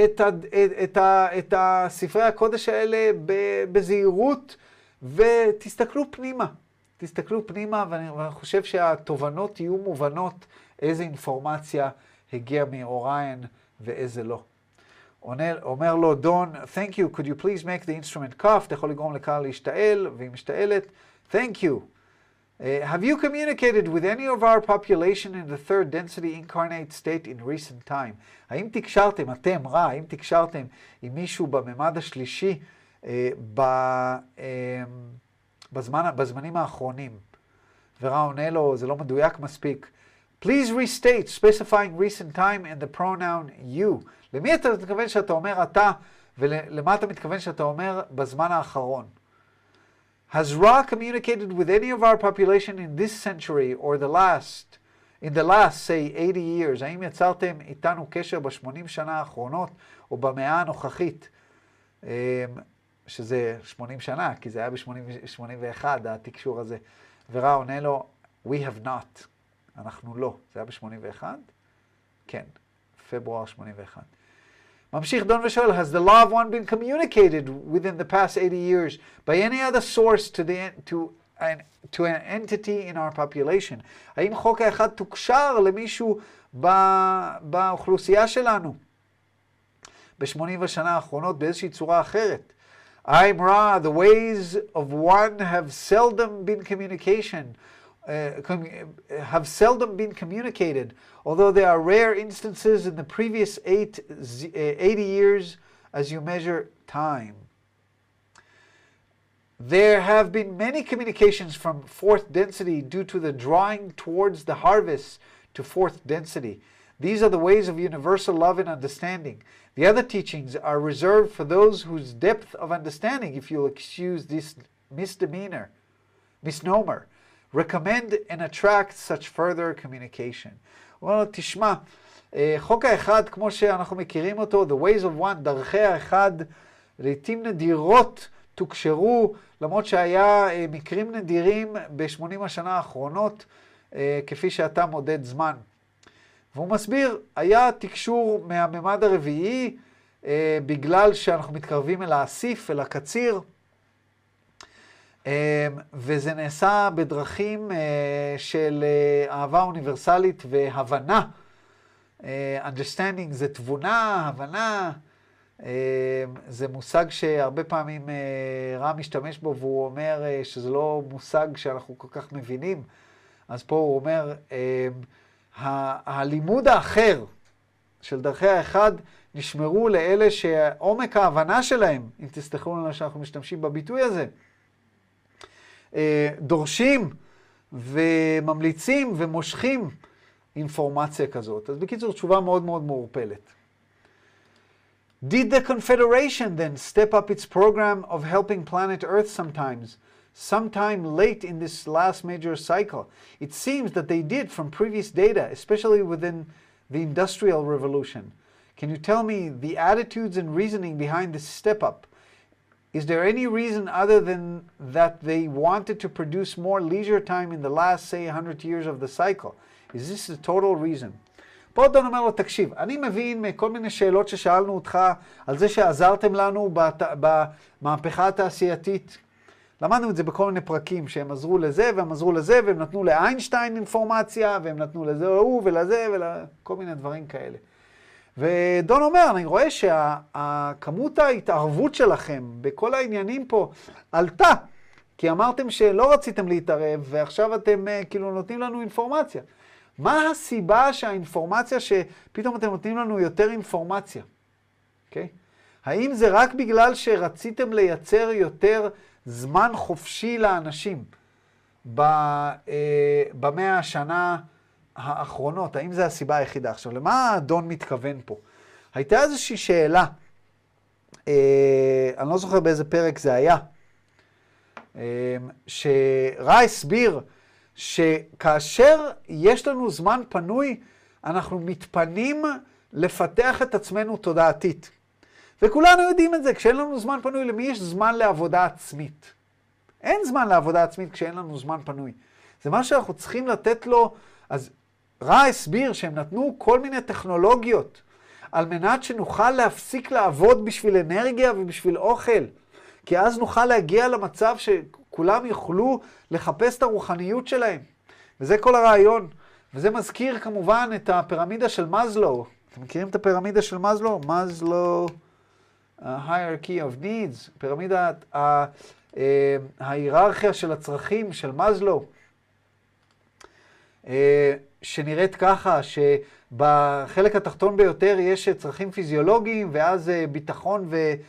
[SPEAKER 1] את הספרי הקודש האלה בזהירות ותסתכלו פנימה. תסתכלו פנימה ואני חושב שהתובנות יהיו מובנות איזה אינפורמציה הגיעה מאוריין ואיזה לא. אומר לו דון, thank you, could you please make the instrument cough? אתה יכול לגרום לקהל להשתעל והיא משתעלת. Thank you. Have you communicated with any of our population in the third density incarnate state in recent time? האם תקשרתם, אתם, האם תקשרתם עם מישהו בממד השלישי בזמנים האחרונים? עונה לו, זה לא מדויק מספיק. Please restate, specifying recent time and the pronoun you. למי אתה מתכוון שאתה אומר אתה, ולמה אתה מתכוון שאתה אומר בזמן האחרון? Has Ra communicated with any of our population in this century or in the last, say, 80 years? האם יצרתם איתנו קשר ב-80 שנה האחרונות או במאה הנוכחית? שזה 80 שנה, כי זה היה ב-81, התקשור הזה. ורע עונה לו, we have not. אנחנו לא. זה היה ב-81? כן, פברואר 81. ממשיך דון ושואל, has the law of one been communicated within the past 80 years by any other source to an entity in our population? האם חוק האחד תוקשר למישהו באוכלוסייה שלנו? ב-80 השנה האחרונות באיזושהי צורה אחרת. I'm Ra, the ways of one have seldom been communicated, although there are rare instances in the previous 80 years as you measure time. There have been many communications from fourth density due to the drawing towards the harvest to fourth density. These are the ways of universal love and understanding. The other teachings are reserved for those whose depth of understanding, if you'll excuse this misnomer, recommend and attract such further communication. well, תשמע, חוק האחד, כמו שאנחנו מכירים אותו, the ways of one, דרכי האחד, לעתים נדירות תוקשרו, למרות שהיה מקרים נדירים ב-80 השנה האחרונות, כפי שאתה מודד זמן. והוא מסביר, היה תקשור מהממד הרביעי, בגלל שאנחנו מתקרבים אל האסיף, אל הקציר, וזה נעשה בדרכים של אהבה אוניברסלית והבנה. understanding זה תבונה, הבנה, זה מושג שהרבה פעמים רע משתמש בו, והוא אומר שזה לא מושג שאנחנו כל כך מבינים. אז פה הוא אומר, הלימוד האחר של דרכי האחד נשמרו לאלה שעומק ההבנה שלהם, אם תסתכלו לנו שאנחנו משתמשים בביטוי הזה, דורשים וממליצים ומושכים אינפורמציה כזאת. אז בקיצור, תשובה מאוד מאוד מעורפלת. Did the Confederation then step up its program of helping planet Earth sometime late in this last major cycle? It seems that they did from previous data, especially within the Industrial Revolution. Can you tell me the attitudes and reasoning behind this step up? Is there any reason other than that they wanted to produce more leisure time in the last, say, 100 years of the cycle? Is this the total reason? פה דון אומר לו, תקשיב, אני מבין מכל מיני שאלות ששאלנו אותך על זה שעזרתם לנו במהפכה התעשייתית. למדנו את זה בכל מיני פרקים שהם עזרו לזה והם עזרו לזה והם נתנו לאיינשטיין אינפורמציה והם נתנו לזה הוא ולזה וכל מיני דברים כאלה. ודון אומר, אני רואה שהכמות ההתערבות שלכם בכל העניינים פה עלתה, כי אמרתם שלא רציתם להתערב ועכשיו אתם כאילו נותנים לנו אינפורמציה. מה הסיבה שהאינפורמציה שפתאום אתם נותנים לנו יותר אינפורמציה? אוקיי? האם זה רק בגלל שרציתם לייצר יותר זמן חופשי לאנשים במאה השנה האחרונות? האם זה הסיבה היחידה? עכשיו, למה דון מתכוון פה? הייתה איזושהי שאלה, אני לא זוכר באיזה פרק זה היה, שרע הסביר שכאשר יש לנו זמן פנוי, אנחנו מתפנים לפתח את עצמנו תודעתית. וכולנו יודעים את זה, כשאין לנו זמן פנוי, למי יש זמן לעבודה עצמית? אין זמן לעבודה עצמית כשאין לנו זמן פנוי. זה מה שאנחנו צריכים לתת לו. אז רע הסביר שהם נתנו כל מיני טכנולוגיות, על מנת שנוכל להפסיק לעבוד בשביל אנרגיה ובשביל אוכל. כי אז נוכל להגיע למצב שכולם יוכלו לחפש את הרוחניות שלהם. וזה כל הרעיון. וזה מזכיר כמובן את הפירמידה של מאזלו. אתם מכירים את הפירמידה של מאזלו? מאזלו, hierarchy of needs, פירמידת ההיררכיה של הצרכים של מאזלו. שנראית ככה, שבחלק התחתון ביותר יש צרכים פיזיולוגיים, ואז ביטחון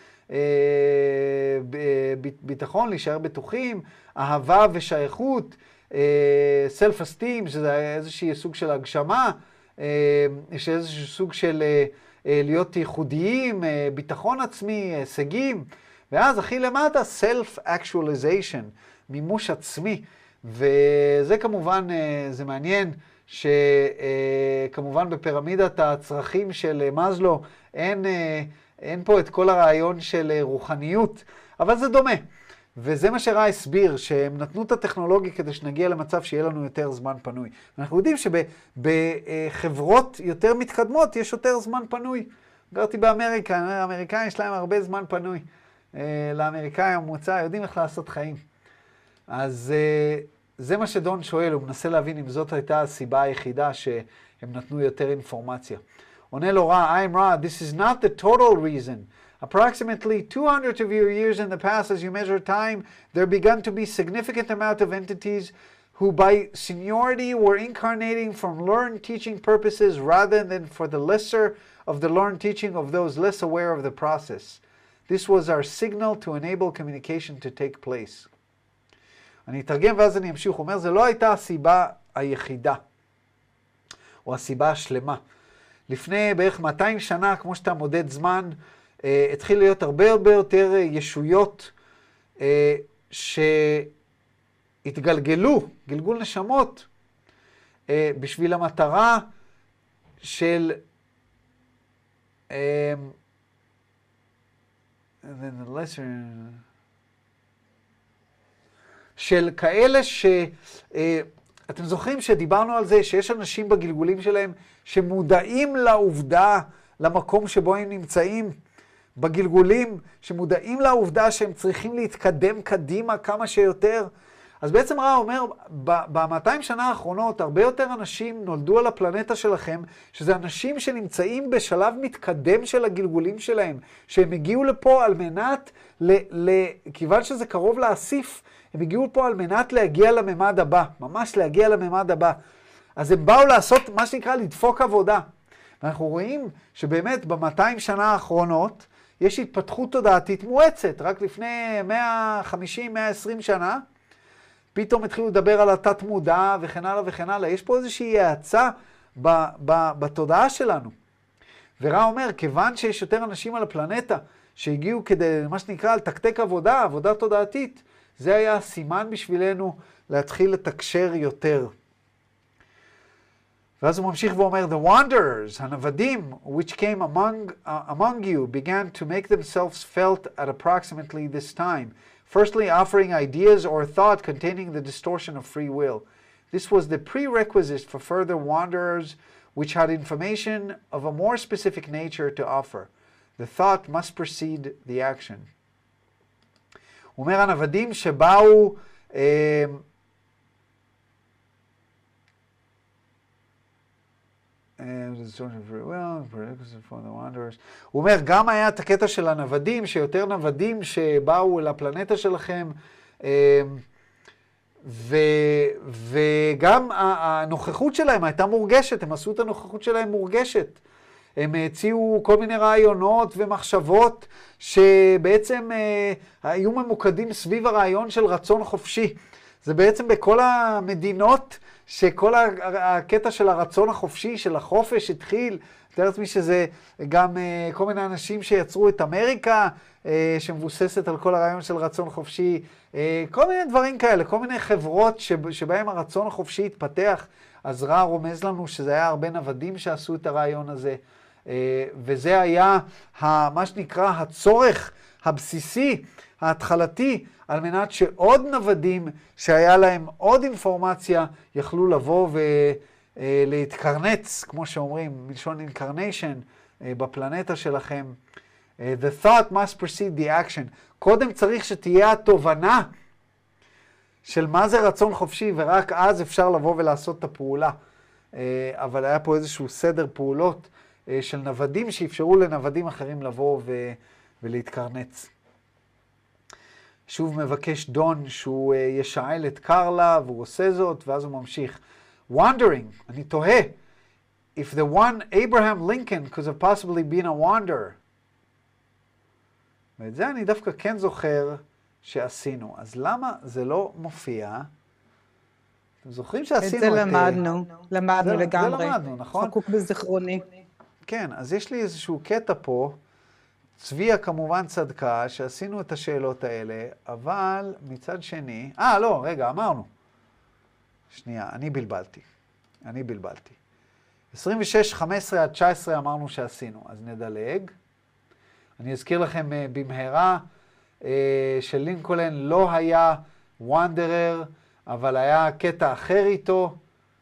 [SPEAKER 1] ביטחון, להישאר בטוחים, אהבה ושייכות, self-esteem, שזה איזשהו סוג של הגשמה, יש איזשהו סוג של להיות ייחודיים, ביטחון עצמי, הישגים, ואז הכי למטה, self-actualization, מימוש עצמי, וזה כמובן, זה מעניין, שכמובן בפירמידת הצרכים של מאזלו, אין פה את כל הרעיון של רוחניות, אבל זה דומה. וזה מה שראה הסביר, שהם נתנו את הטכנולוגיה כדי שנגיע למצב שיהיה לנו יותר זמן פנוי. אנחנו יודעים שבחברות יותר מתקדמות יש יותר זמן פנוי. גרתי באמריקה, האמריקאים יש להם הרבה זמן פנוי. לאמריקאים הממוצע יודעים איך לעשות חיים. אז זה מה שדון שואל, הוא מנסה להבין אם זאת הייתה הסיבה היחידה שהם נתנו יותר אינפורמציה. עונה לו רע, I'm Ra, this is not the total reason. Approximately 200 of your years in the past, as you measure time, there began to be significant amount of entities who by seniority were incarnating from learned teaching purposes rather than for the lesser of the learned teaching of those less aware of the process. This was our signal to enable communication to take place. אני אתרגם ואז אני אמשיך. הוא אומר, זה לא הייתה הסיבה היחידה, או הסיבה השלמה. לפני בערך 200 שנה, כמו שאתה מודד זמן, התחיל להיות הרבה יותר ישויות שהתגלגלו, גלגול נשמות, בשביל המטרה של של כאלה אתם זוכרים שדיברנו על זה שיש אנשים בגלגולים שלהם שמודעים לעובדה, למקום שבו הם נמצאים, בגלגולים, שמודעים לעובדה שהם צריכים להתקדם קדימה כמה שיותר. אז בעצם רע אומר, ב-200 שנה האחרונות, הרבה יותר אנשים נולדו על הפלנטה שלכם, שזה אנשים שנמצאים בשלב מתקדם של הגלגולים שלהם, שהם הגיעו לפה על מנת, כיוון שזה קרוב לאסיף, הם הגיעו פה על מנת להגיע לממד הבא, ממש להגיע לממד הבא. אז הם באו לעשות מה שנקרא לדפוק עבודה. ואנחנו רואים שבאמת ב-200 שנה האחרונות יש התפתחות תודעתית מואצת. רק לפני 150-120 שנה, פתאום התחילו לדבר על התת מודע וכן הלאה וכן הלאה. יש פה איזושהי האצה בתודעה שלנו. ורע אומר, כיוון שיש יותר אנשים על הפלנטה שהגיעו כדי מה שנקרא לתקתק עבודה, עבודה תודעתית, זה היה הסימן בשבילנו להתחיל לתקשר יותר. ואז הוא ממשיך ואומר, the wanderers, הנוודים, which came among you, began to make themselves felt at approximately this time, firstly offering ideas or thought containing the distortion of free will. This was the prerequisite for further wanderers, which had information of a more specific nature to offer. The thought must precede the action. הוא אומר, הנוודים שבאו, הוא אומר, גם היה את הקטע של הנוודים, שיותר נוודים שבאו לפלנטה שלכם, וגם הנוכחות שלהם הייתה מורגשת, הם עשו את הנוכחות שלהם מורגשת. הם הציעו כל מיני רעיונות ומחשבות שבעצם היו ממוקדים סביב הרעיון של רצון חופשי. זה בעצם בכל המדינות שכל הקטע של הרצון החופשי, של החופש התחיל. תאר לעצמי שזה גם כל מיני אנשים שיצרו את אמריקה, שמבוססת על כל הרעיון של רצון חופשי. כל מיני דברים כאלה, כל מיני חברות שבהם הרצון החופשי התפתח. אז רע רומז לנו שזה היה הרבה נוודים שעשו את הרעיון הזה. וזה היה מה שנקרא הצורך הבסיסי, ההתחלתי, על מנת שעוד נוודים שהיה להם עוד אינפורמציה יכלו לבוא ולהתקרנץ, כמו שאומרים, מלשון incarnation, בפלנטה שלכם. The thought must precede the action. קודם צריך שתהיה התובנה של מה זה רצון חופשי, ורק אז אפשר לבוא ולעשות את הפעולה. אבל היה פה איזשהו סדר פעולות של נוודים שאפשרו לנוודים אחרים לבוא ולהתקרנץ. שוב מבקש דון שהוא ישאל את קרלה, והוא עושה זאת, ואז הוא ממשיך. wandering, אני תוהה, if the one Abraham Lincoln could have possibly been a wanderer. ואת זה אני דווקא כן זוכר שעשינו. אז למה זה לא מופיע? אתם זוכרים שעשינו
[SPEAKER 2] את זה למדנו לגמרי.
[SPEAKER 1] זה למדנו, נכון?
[SPEAKER 2] חקוק בזיכרוני.
[SPEAKER 1] כן, אז יש לי איזשהו קטע פה, צביה כמובן צדקה, שעשינו את השאלות האלה, אבל מצד שני, לא, רגע, אמרנו. שנייה, אני בלבלתי. 26, 15 עד 19 אמרנו שעשינו, אז נדלג. אני אזכיר לכם במהרה שלינקולן לא היה וונדרר, אבל היה קטע אחר איתו,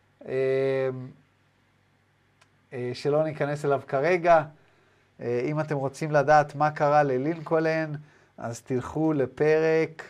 [SPEAKER 1] שלא ניכנס אליו כרגע. אם אתם רוצים לדעת מה קרה ללינקולן, אז תלכו לפרק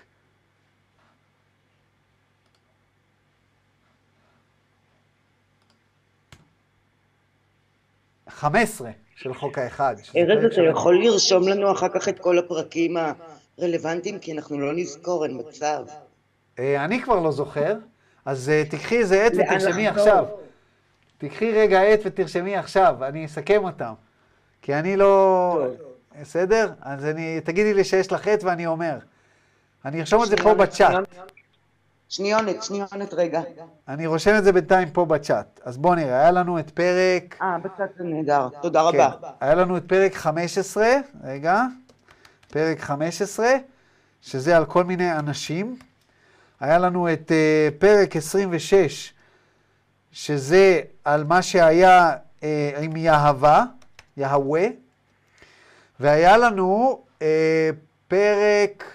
[SPEAKER 1] 15 של חוק האחד.
[SPEAKER 3] ארז, אתה יכול לרשום לנו אחר כך את כל הפרקים הרלוונטיים, כי אנחנו לא נזכור, אין מצב.
[SPEAKER 1] אני כבר לא זוכר, אז תקחי איזה עט ותרשמי עכשיו. תקחי רגע עט ותרשמי עכשיו, אני אסכם אותם. כי אני לא... בסדר? אז תגידי לי שיש לך עט ואני אומר. אני ארשום את זה פה בצ'אט.
[SPEAKER 3] שניונת רגע.
[SPEAKER 1] אני רושם את זה בינתיים פה בצ'אט. אז בואו נראה, היה לנו את פרק...
[SPEAKER 3] בצ'אט זה נהדר, תודה רבה.
[SPEAKER 1] היה לנו את פרק 15, רגע, פרק 15, שזה על כל מיני אנשים. היה לנו את פרק 26, שזה על מה שהיה עם יהווה, והיה לנו פרק,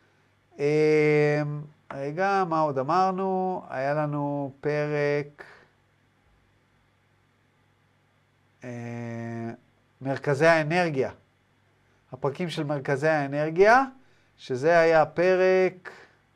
[SPEAKER 1] רגע, מה עוד אמרנו? היה לנו פרק מרכזי האנרגיה, הפרקים של מרכזי האנרגיה, שזה היה פרק,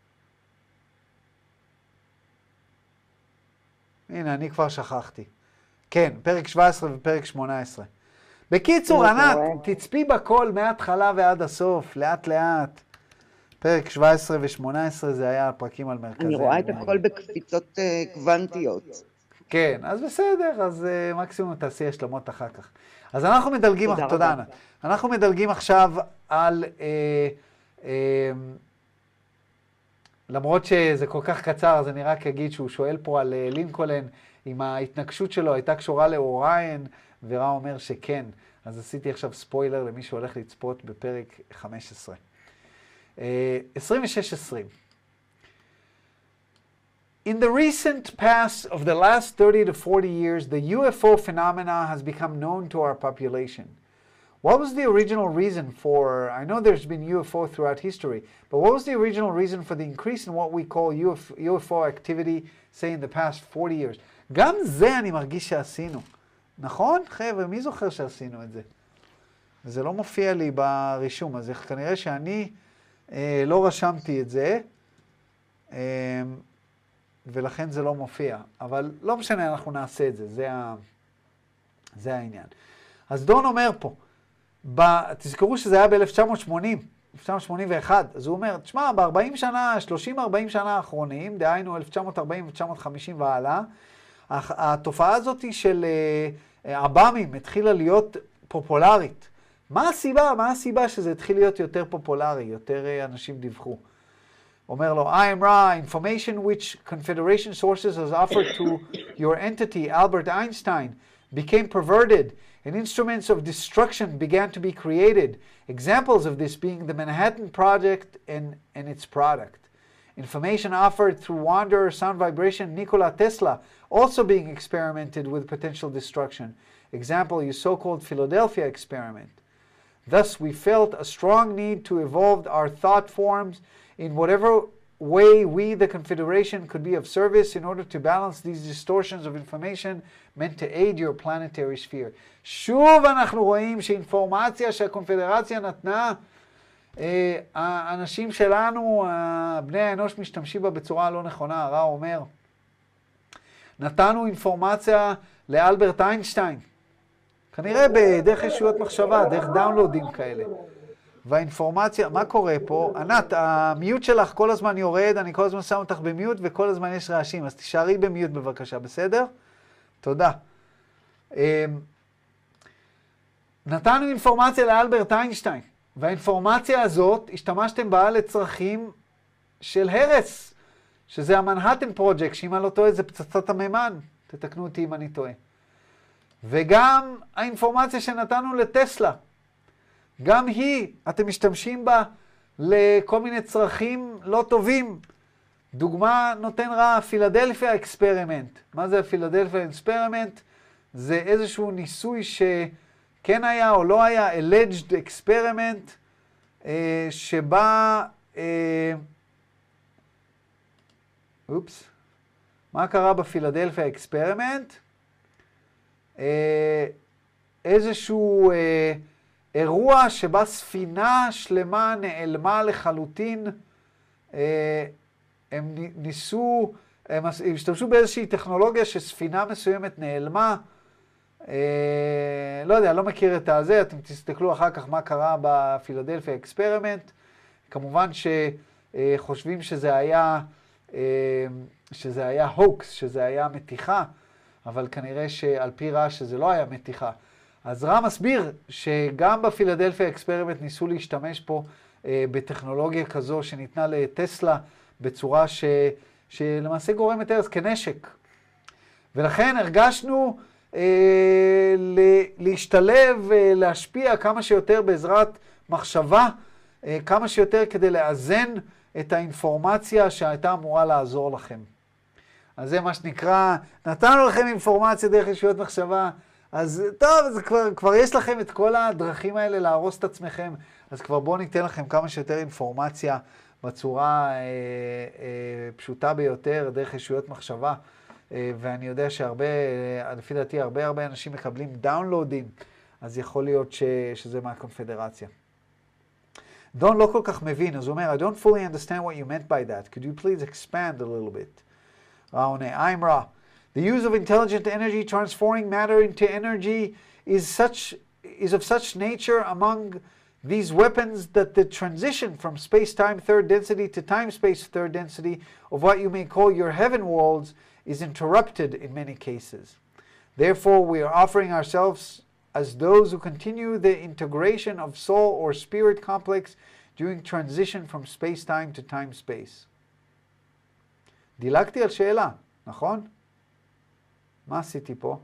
[SPEAKER 1] הנה, אני כבר שכחתי. כן, פרק 17 ופרק 18. בקיצור, ענת, תצפי בכל מההתחלה ועד הסוף, לאט לאט. פרק 17 ו-18 זה היה הפרקים על מרכזי.
[SPEAKER 3] אני רואה את הכל בקפיצות קוונטיות.
[SPEAKER 1] כן, אז בסדר, אז מקסימום תעשי השלמות אחר כך. אז אנחנו מדלגים, תודה ענת. אנחנו מדלגים עכשיו על, למרות שזה כל כך קצר, אז אני רק אגיד שהוא שואל פה על לינקולן, אם ההתנגשות שלו הייתה קשורה לאוריין, ורע אומר שכן. אז עשיתי עכשיו ספוילר למי שהולך לצפות בפרק 15. 26-20. In the recent past of the last 30 to 40 years, the UFO phenomena has become known to our population. What was the original reason for, I know there's been UFO throughout history, but what was the original reason for the increase in what we call UFO activity, say in the past 40 years? גם זה אני מרגיש שעשינו. נכון? חבר'ה, מי זוכר שעשינו את זה? וזה לא מופיע לי ברישום, אז כנראה שאני לא רשמתי את זה, ולכן זה לא מופיע. אבל לא משנה, אנחנו נעשה את זה, זה העניין. אז דון אומר פה, תזכרו שזה היה ב-1980, 1981, אז הוא אומר, תשמע, ב-40 שנה, 30-40 שנה האחרונים, דהיינו 1940-1950 והלאה, התופעה הזאת של אב"מים התחילה להיות פופולרית. מה הסיבה שזה התחיל להיות יותר פופולרי, יותר אנשים דיווחו? אומר לו, I am Ra, information which Confederation sources has offered to your entity, Albert Einstein, became perverted, and instruments of destruction began to be created, examples of this being the Manhattan Project and its product. Information offered through Wanderer sound vibration Nikola Tesla also being experimented with potential destruction. Example, your so-called Philadelphia experiment. Thus, we felt a strong need to evolve our thought forms in whatever way we, the Confederation, could be of service in order to balance these distortions of information meant to aid your planetary sphere. שוב אנחנו רואים שאינפורמציה שהקונפדרציה נתנה, האנשים שלנו, בני האנוש משתמשים בה בצורה לא נכונה. הרע אומר, נתנו אינפורמציה לאלברט איינשטיין, כנראה בדרך ישויות מחשבה, דרך דאונלודים כאלה. והאינפורמציה, מה קורה פה? ענת, המיוט שלך כל הזמן יורד, אני כל הזמן שם אותך במיוט וכל הזמן יש רעשים, אז תישארי במיוט בבקשה, בסדר? תודה. נתנו אינפורמציה לאלברט איינשטיין, והאינפורמציה הזאת השתמשתם בה לצרכים של הרס, שזה המנהטן פרויקט, שאם אני לא טועה זה פצצת המימן, תתקנו אותי אם אני טועה. וגם האינפורמציה שנתנו לטסלה, גם היא, אתם משתמשים בה לכל מיני צרכים לא טובים. דוגמה נותן רע, פילדלפיה אקספרימנט. מה זה הפילדלפיה אקספרימנט? זה איזשהו ניסוי שכן היה או לא היה, alleged experiment, שבה, מה קרה בפילדלפיה אקספרימנט? איזשהו אירוע שבה ספינה שלמה נעלמה לחלוטין. הם ניסו, הם השתמשו באיזושהי טכנולוגיה שספינה מסוימת נעלמה. לא יודע, לא מכיר את הזה, אתם תסתכלו אחר כך מה קרה בפילדלפיה אקספרימנט. כמובן שחושבים שזה היה הוקס, שזה היה מתיחה, אבל כנראה שעל פי רעש שזה לא היה מתיחה. אז רע מסביר שגם בפילדלפיה אקספרימנט ניסו להשתמש פה בטכנולוגיה כזו שניתנה לטסלה בצורה שלמעשה גורמת הרס כנשק. ולכן הרגשנו להשתלב, להשפיע כמה שיותר בעזרת מחשבה, כמה שיותר כדי לאזן את האינפורמציה שהייתה אמורה לעזור לכם. אז זה מה שנקרא, נתנו לכם אינפורמציה דרך ישויות מחשבה, אז טוב, אז כבר יש לכם את כל הדרכים האלה להרוס את עצמכם, אז כבר בואו ניתן לכם כמה שיותר אינפורמציה בצורה פשוטה ביותר, דרך ישויות מחשבה, ואני יודע שהרבה, לפי דעתי, הרבה אנשים מקבלים דאונלודים, אז יכול להיות שזה מהקונפדרציה. דון לא כל כך מבין, אז הוא אומר, I don't fully understand what you meant by that. Could you please expand a little bit? עונה, I'm Ra. The use of intelligent energy transforming matter into energy is of such nature among these weapons that the transition from space-time third density to time-space third density of what you may call your heaven worlds is interrupted in many cases. Therefore, we are offering ourselves as those who continue the integration of soul or spirit complex during transition from space-time to time-space. דילגתי על שאלה, נכון? מה עשיתי פה?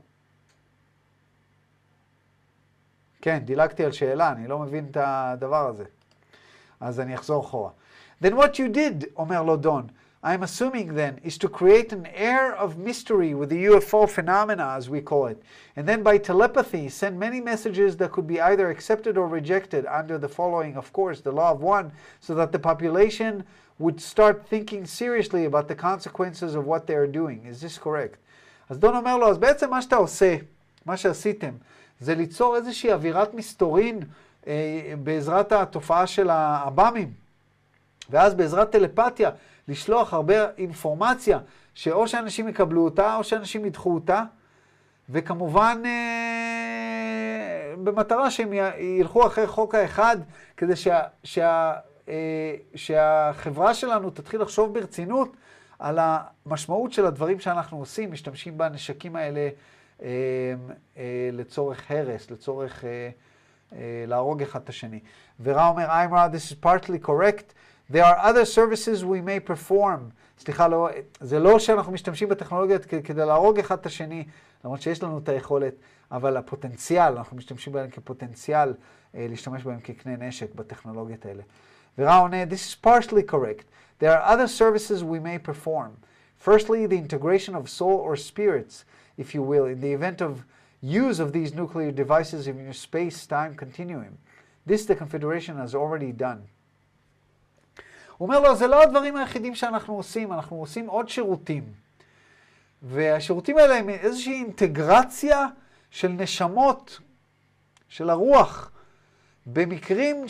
[SPEAKER 1] כן, דילגתי על שאלה, אני לא מבין את הדבר הזה. אז אני אחזור אחורה. Then what you did, אומר לו דון, I'm assuming then, is to create an air of mystery with the UFO phenomena, as we call it, and then by telepathy send many messages that could be either accepted or rejected under the following, of course, the law of one, so that the population would start thinking seriously about the consequences of what they are doing. Is this correct? אז דון אומר לו, אז בעצם מה שאתה עושה, מה שעשיתם, זה ליצור איזושהי אווירת מסתורין בעזרת התופעה של האב"מים, ואז בעזרת טלפתיה, לשלוח הרבה אינפורמציה, שאו שאנשים יקבלו אותה, או שאנשים ידחו אותה, וכמובן במטרה שהם ילכו אחרי חוק האחד, כדי שהחברה שלנו תתחיל לחשוב ברצינות על המשמעות של הדברים שאנחנו עושים, משתמשים בנשקים האלה לצורך הרס, לצורך להרוג אחד את השני. ורע אומר, I'm Ra, this is partly correct. There are other services we may perform. סליחה, לא, זה לא שאנחנו משתמשים בטכנולוגיות כדי להרוג אחד את השני, למרות שיש לנו את היכולת, אבל הפוטנציאל, אנחנו משתמשים בהם כפוטנציאל להשתמש בהם כקנה נשק בטכנולוגיות האלה. ורע עונה, this is partially correct. There are other services we may perform. Firstly, the integration of soul or spirits, if you will, in the event of use of these nuclear devices in your space-time continuum. This the Confederation has already done. הוא אומר לו, זה לא הדברים היחידים שאנחנו עושים, אנחנו עושים עוד שירותים. והשירותים האלה הם איזושהי אינטגרציה של נשמות, של הרוח, במקרים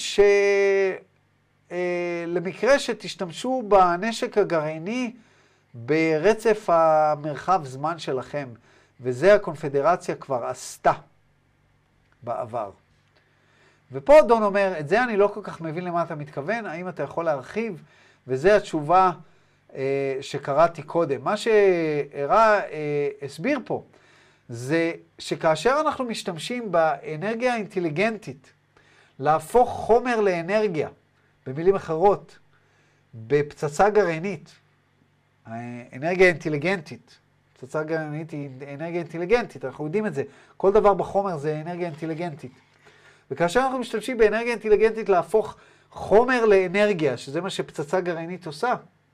[SPEAKER 1] למקרה שתשתמשו בנשק הגרעיני ברצף המרחב זמן שלכם, וזה הקונפדרציה כבר עשתה בעבר. ופה דון אומר, את זה אני לא כל כך מבין למה אתה מתכוון, האם אתה יכול להרחיב? וזו התשובה שקראתי קודם. מה שהראה הסביר פה, זה שכאשר אנחנו משתמשים באנרגיה האינטליגנטית, להפוך חומר לאנרגיה, במילים אחרות, בפצצה גרעינית, האנרגיה אינטליגנטית, פצצה גרעינית היא אנרגיה אינטליגנטית, אנחנו יודעים את זה, כל דבר בחומר זה אנרגיה אינטליגנטית. וכאשר אנחנו משתמשים באנרגיה אינטליגנטית להפוך חומר לאנרגיה, שזה מה שפצצה גרעינית עושה,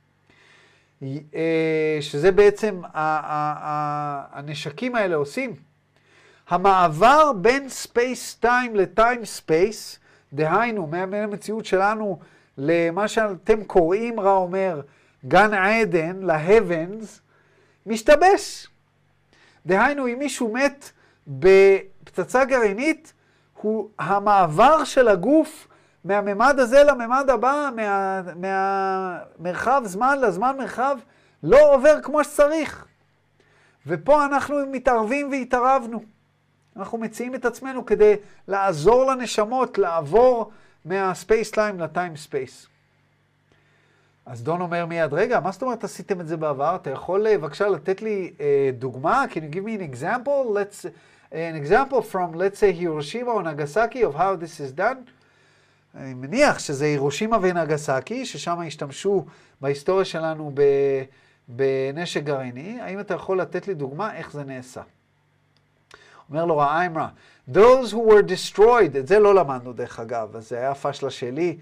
[SPEAKER 1] שזה בעצם הנשקים האלה עושים, המעבר בין ספייס-טיים לטיים-ספייס, דהיינו, מהמציאות שלנו למה שאתם קוראים, רע אומר, גן עדן, להבנס, משתבש. דהיינו, אם מישהו מת בפצצה גרעינית, המעבר של הגוף מהממד הזה לממד הבא, מהמרחב זמן לזמן מרחב, לא עובר כמו שצריך. ופה אנחנו מתערבים והתערבנו. אנחנו מציעים את עצמנו כדי לעזור לנשמות לעבור מהספייס-טיים לטיים-ספייס. אז דון אומר מיד, רגע, מה זאת אומרת עשיתם את זה בעבר? אתה יכול בבקשה לתת לי דוגמה? Can you give me an example? An example from, let's say, Hiroshima or Nagasaki of how this is done? אני מניח שזה הירושימה ונגסקי, ששם השתמשו בהיסטוריה שלנו בנשק גרעיני. האם אתה יכול לתת לי דוגמה איך זה נעשה? אומר לו רעיימרה, those who were destroyed, את זה לא למדנו דרך אגב, אז זה היה פשלה שלי,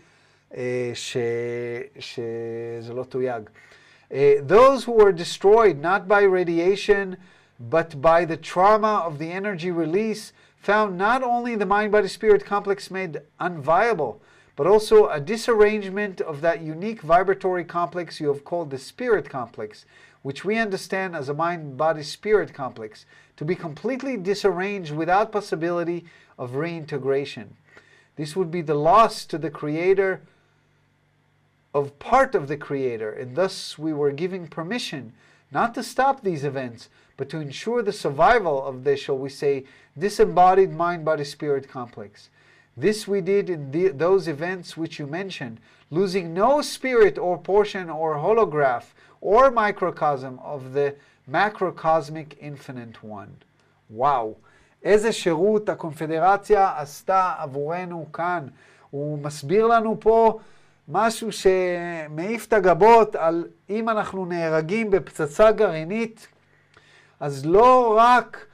[SPEAKER 1] שזה לא תויג. Those who were destroyed not by radiation, but by the trauma of the energy release, found not only the mind-body-spirit complex made unviable, but also a disarrangement of that unique vibratory complex you have called the spirit complex, which we understand as a mind-body-spirit complex, to be completely disarranged without possibility of reintegration. This would be the loss to the creator of part of the creator, and thus we were giving permission not to stop these events, but to ensure the survival of the, shall we say, disembodied mind-body-spirit complex. This we did in those events which you mentioned, losing no spirit or portion or holograph or microcosm of the macrocosmic infinite one. וואו, איזה שירות הקונפדרציה עשתה עבורנו כאן. הוא מסביר לנו פה משהו שמעיף את הגבות על אם אנחנו נהרגים בפצצה גרעינית, אז לא רק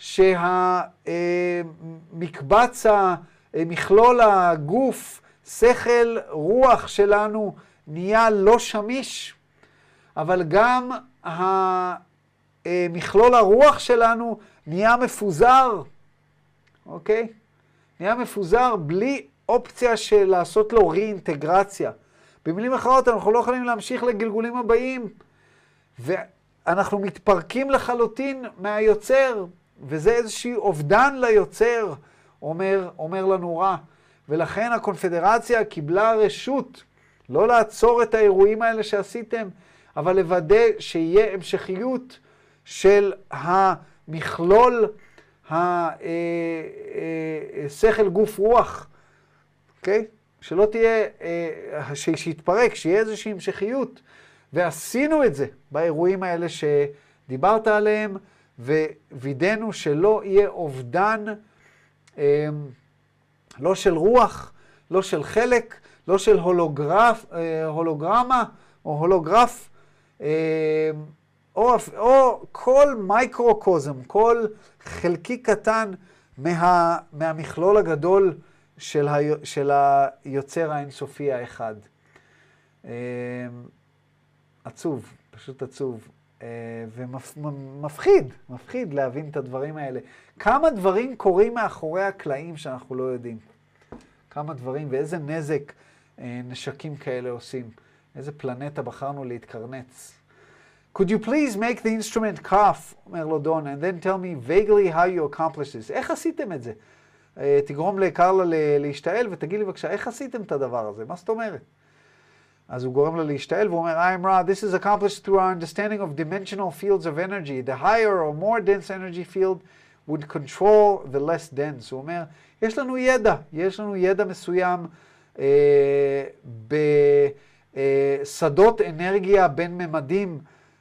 [SPEAKER 1] שהמקבץ, מכלול הגוף, שכל, רוח שלנו נהיה לא שמיש, אבל גם מכלול הרוח שלנו נהיה מפוזר, אוקיי? נהיה מפוזר בלי אופציה של לעשות לו רי-אינטגרציה. במילים אחרות, אנחנו לא יכולים להמשיך לגלגולים הבאים, ואנחנו מתפרקים לחלוטין מהיוצר, וזה איזושהי אובדן ליוצר, אומר לנו רע. ולכן הקונפדרציה קיבלה רשות לא לעצור את האירועים האלה שעשיתם, אבל לוודא שיהיה המשכיות של המכלול השכל גוף רוח, אוקיי? שלא תהיה, שיתפרק, שיהיה איזושהי המשכיות. ועשינו את זה באירועים האלה שדיברת עליהם, ווידאנו שלא יהיה אובדן, לא של רוח, לא של חלק, לא של הולוגרמה או הולוגרף, או כל מייקרוקוזם, כל חלקי קטן מהמכלול הגדול של היוצר האינסופי האחד. עצוב, פשוט עצוב. ומפחיד להבין את הדברים האלה. כמה דברים קורים מאחורי הקלעים שאנחנו לא יודעים. כמה דברים ואיזה נזק נשקים כאלה עושים. איזה פלנטה בחרנו להתקרנץ. Could you please make the instrument cough, אומר לו דון, and then tell me vaguely how you accomplished this. איך עשיתם את זה? תגרום לקרלה להשתעל ותגיד לי בבקשה, איך עשיתם את הדבר הזה? מה זאת אומרת? אז הוא גורם לה להשתעל והוא אומר, I'm Ra, this is accomplished through our understanding of dimensional fields of energy. The higher or more dense energy field would control the less dense. הוא אומר, יש לנו ידע מסוים בשדות אנרגיה בין ממדים,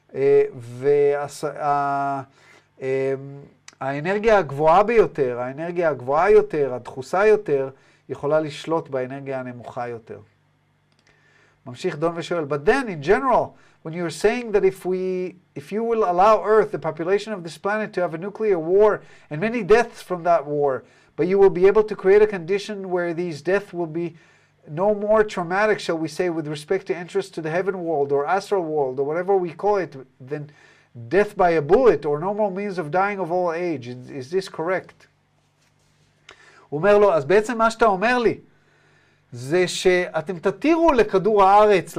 [SPEAKER 1] והאנרגיה הגבוהה ביותר, האנרגיה הגבוהה יותר, הדחוסה יותר, יכולה לשלוט באנרגיה הנמוכה יותר. ממשיך דון ושואל, but then in general, when you're saying that if you will allow Earth, the population of this planet, to have a nuclear war and many deaths from that war, but you will be able to create a condition where these deaths will be no more traumatic, shall we say, with respect to entrance to the heaven world or astral world or whatever we call it, than death by a bullet or normal means of dying of old age. Is this correct? הוא אומר לו, אז בעצם מה שאתה אומר לי, זה שאתם תתירו לכדור הארץ,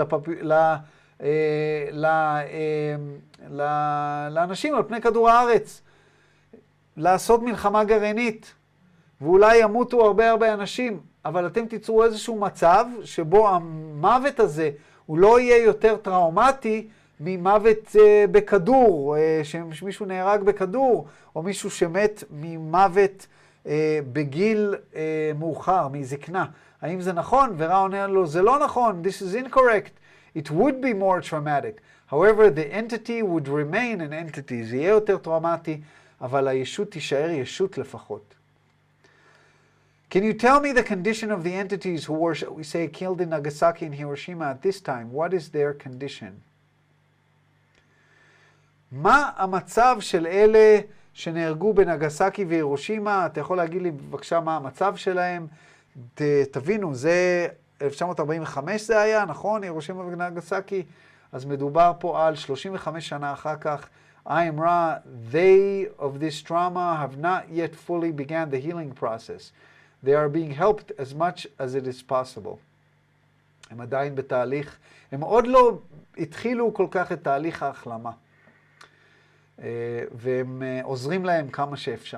[SPEAKER 1] לאנשים על פני כדור הארץ, לעשות מלחמה גרעינית, ואולי ימותו הרבה אנשים, אבל אתם תיצרו איזשהו מצב שבו המוות הזה הוא לא יהיה יותר טראומטי ממוות בכדור, שמישהו נהרג בכדור, או מישהו שמת ממוות בגיל מאוחר, מזקנה. האם זה נכון? ורע עונה לו, זה לא נכון, this is incorrect. It would be more traumatic. However, the entity would remain an entity. זה יהיה יותר טראומטי, אבל הישות תישאר ישות לפחות. Can you tell me the condition of the entities who were, we say, killed in Nagasaki and Hiroshima at this time? What is their condition? מה המצב של אלה שנהרגו בנגסקי והירושימה? אתה יכול להגיד לי בבקשה מה המצב שלהם? תבינו, זה 1945 זה היה, נכון? הירושימה ונגסקי? אז מדובר פה על 35 שנה אחר כך. I am Ra, they of this trauma have not yet fully began the healing process. They are being helped as much as it is possible. הם עדיין בתהליך, הם עוד לא התחילו כל כך את תהליך ההחלמה. והם עוזרים להם כמה שאפשר.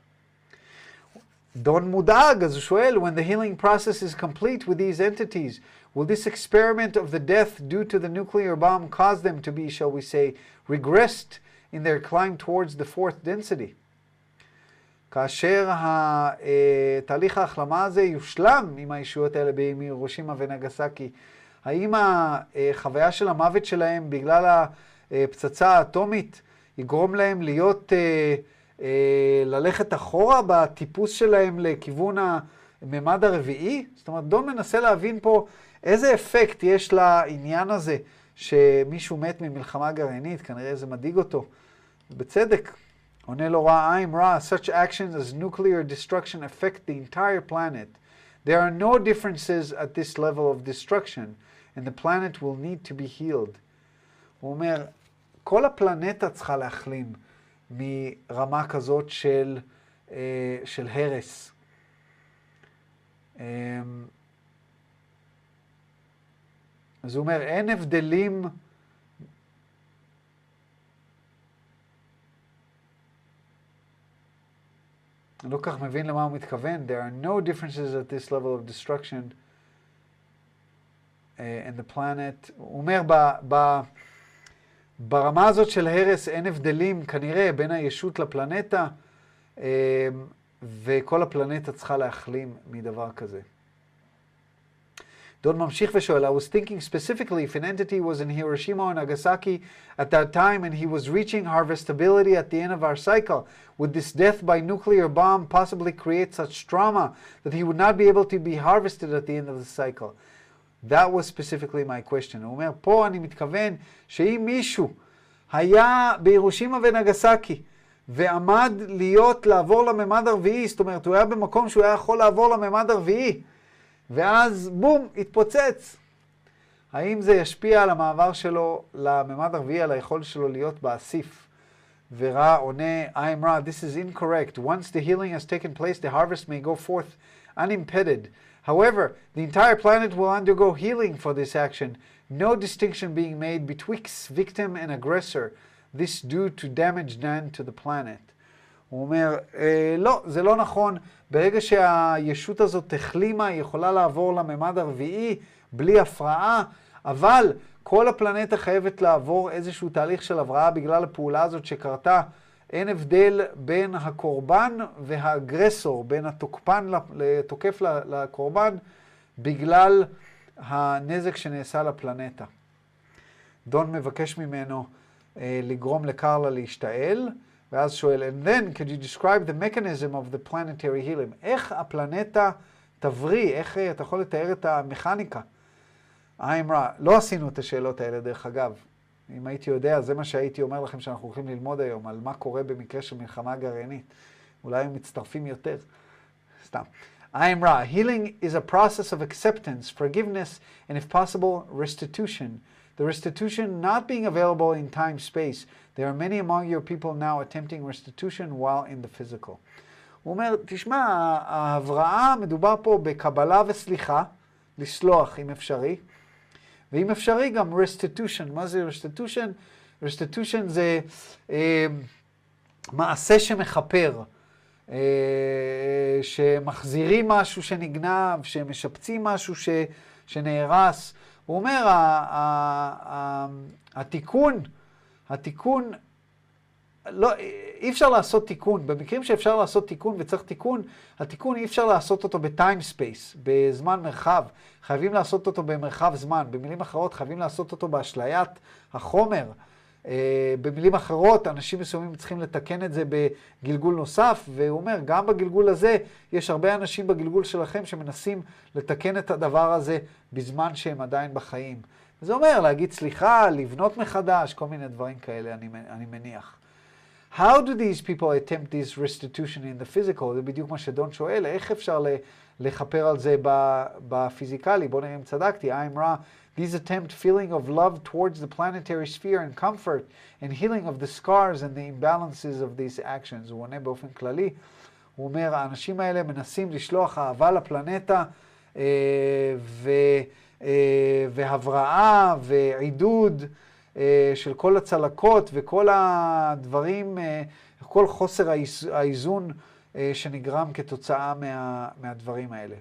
[SPEAKER 1] דון מודאג, אז הוא שואל, when the healing process is complete with these entities, will this experiment of the death due to the nuclear bomb cause them to be, shall we say, regressed in their climb towards the fourth density? כאשר תהליך ההחלמה הזה יושלם עם הישויות האלה בהירושימה ונגסקי, האם החוויה של המוות שלהם בגלל הפצצה האטומית יגרום להם להיות, ללכת אחורה בטיפוס שלהם לכיוון הממד הרביעי? זאת אומרת, דון מנסה להבין פה איזה אפקט יש לעניין הזה שמישהו מת ממלחמה גרעינית, כנראה זה מדאיג אותו. בצדק. עונה לו רע, I'm Ra, such actions as nuclear destruction affect the entire planet. There are no differences at this level of destruction, and the planet will need to be healed. הוא אומר, כל הפלנטה צריכה להחלים מרמה כזאת של הרס. אז הוא אומר, אין הבדלים אני לא כך מבין למה הוא מתכוון. There are no differences at this level of destruction in the planet. הוא אומר, ברמה הזאת של הרס אין הבדלים כנראה בין הישות לפלנטה, וכל הפלנטה צריכה להחלים מדבר כזה. דון ממשיך ושואל, I was thinking specifically if an entity was in Hiroshima or Nagasaki at that time and he was reaching harvestability at the end of our cycle, would this death by nuclear bomb possibly create such trauma that he would not be able to be harvested at the end of the cycle? That was specifically my question. הוא אומר, פה אני מתכוון שאם מישהו היה בהירושימה ונגסקי ועמד לעבור לממד הרביעי, זאת אומרת, הוא היה במקום שהוא היה יכול לעבור לממד הרביעי, ואז בום, התפוצץ. האם זה ישפיע על המעבר שלו לממד הרביעי, על היכולת שלו להיות באסיף? ורע עונה, I am Ra, this is incorrect. Once the healing has taken place, the harvest may go forth unimpeded. However, the entire planet will undergo healing for this action, no distinction being made betwixt victim and aggressor, this due to damage done to the planet. הוא אומר, לא, זה לא נכון. ברגע שהישות הזאת החלימה, היא יכולה לעבור לממד הרביעי בלי הפרעה, אבל כל הפלנטה חייבת לעבור איזשהו תהליך של הבראה בגלל הפעולה הזאת שקרתה אין הבדל בין הקורבן והאגרסור, בין התוקף לקורבן, בגלל הנזק שנעשה לפלנטה. דון מבקש ממנו לגרום לקרלה להשתעל, ואז שואל, and then could you describe the mechanism of the planetary healing? איך הפלנטה תבריא, איך אתה יכול לתאר את המכניקה? האמרה, לא עשינו את השאלות האלה דרך אגב. אם הייתי יודע, זה מה שהייתי אומר לכם שאנחנו הולכים ללמוד היום, על מה קורה במקרה של מלחמה גרעינית. אולי הם מצטרפים יותר. סתם. האמרה, healing is a process of acceptance, forgiveness, and if possible, restitution. The restitution not being available in time-space. There are many among your people now attempting restitution while in the physical. הוא אומר, תשמע, ההבראה מדובר פה בקבלה וסליחה, לסלוח אם אפשרי, ואם אפשרי גם restitution. מה זה restitution? restitution זה מעשה שמחפר, שמחזירים משהו שנגנב, שמשפצים משהו שנהרס. הוא אומר, התיקון, לא, אי אפשר לעשות תיקון. במקרים שאפשר לעשות תיקון וצריך תיקון, התיקון אי אפשר לעשות אותו בטיים ספייס, בזמן מרחב. חייבים לעשות אותו במרחב זמן. במילים אחרות, חייבים לעשות אותו באשליית החומר. במילים אחרות, אנשים מסוימים צריכים לתקן את זה בגלגול נוסף, והוא אומר, גם בגלגול הזה, יש הרבה אנשים בגלגול שלכם שמנסים לתקן את הדבר הזה בזמן שהם עדיין בחיים. זה אומר, להגיד סליחה, לבנות מחדש, כל מיני דברים כאלה, אני מניח. How do these people attempt this restitution in the physical? זה בדיוק מה שדון שואל, איך אפשר לחפר על זה בפיזיקלי? בוא נראה אם צדקתי. האמרה, these attempt feeling of love towards the planetary sphere and comfort and healing of the scars and the imbalances of these actions. הוא עונה באופן כללי. הוא אומר, האנשים האלה מנסים לשלוח אהבה לפלנטה והבראה ועידוד של כל הצלקות וכל הדברים, כל חוסר האיזון שנגרם כתוצאה מהדברים האלה.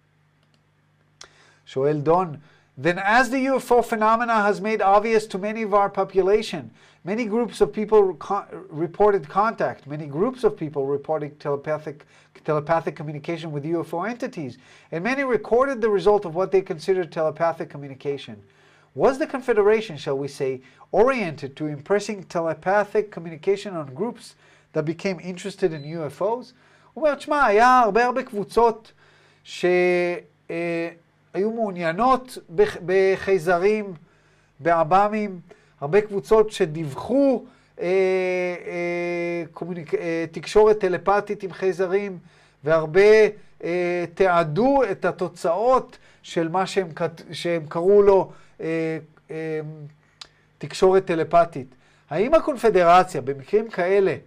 [SPEAKER 1] שואל דון, then as the UFO phenomena has made obvious to many of our population, many groups of people reported contact, many groups of people reported telepathic communication with UFO entities, and many recorded the result of what they considered telepathic communication. Was the Confederation, shall we say, oriented to impressing telepathic communication on groups that became interested in UFOs? הוא אומר, תשמע, היה הרבה קבוצות שהיו מעוניינות בחייזרים, בעב"מים, הרבה קבוצות שדיווחו תקשורת טלפתית עם חייזרים, והרבה תיעדו את התוצאות של מה שהם קראו לו תקשורת טלפתית. האם הקונפדרציה במקרים כאלה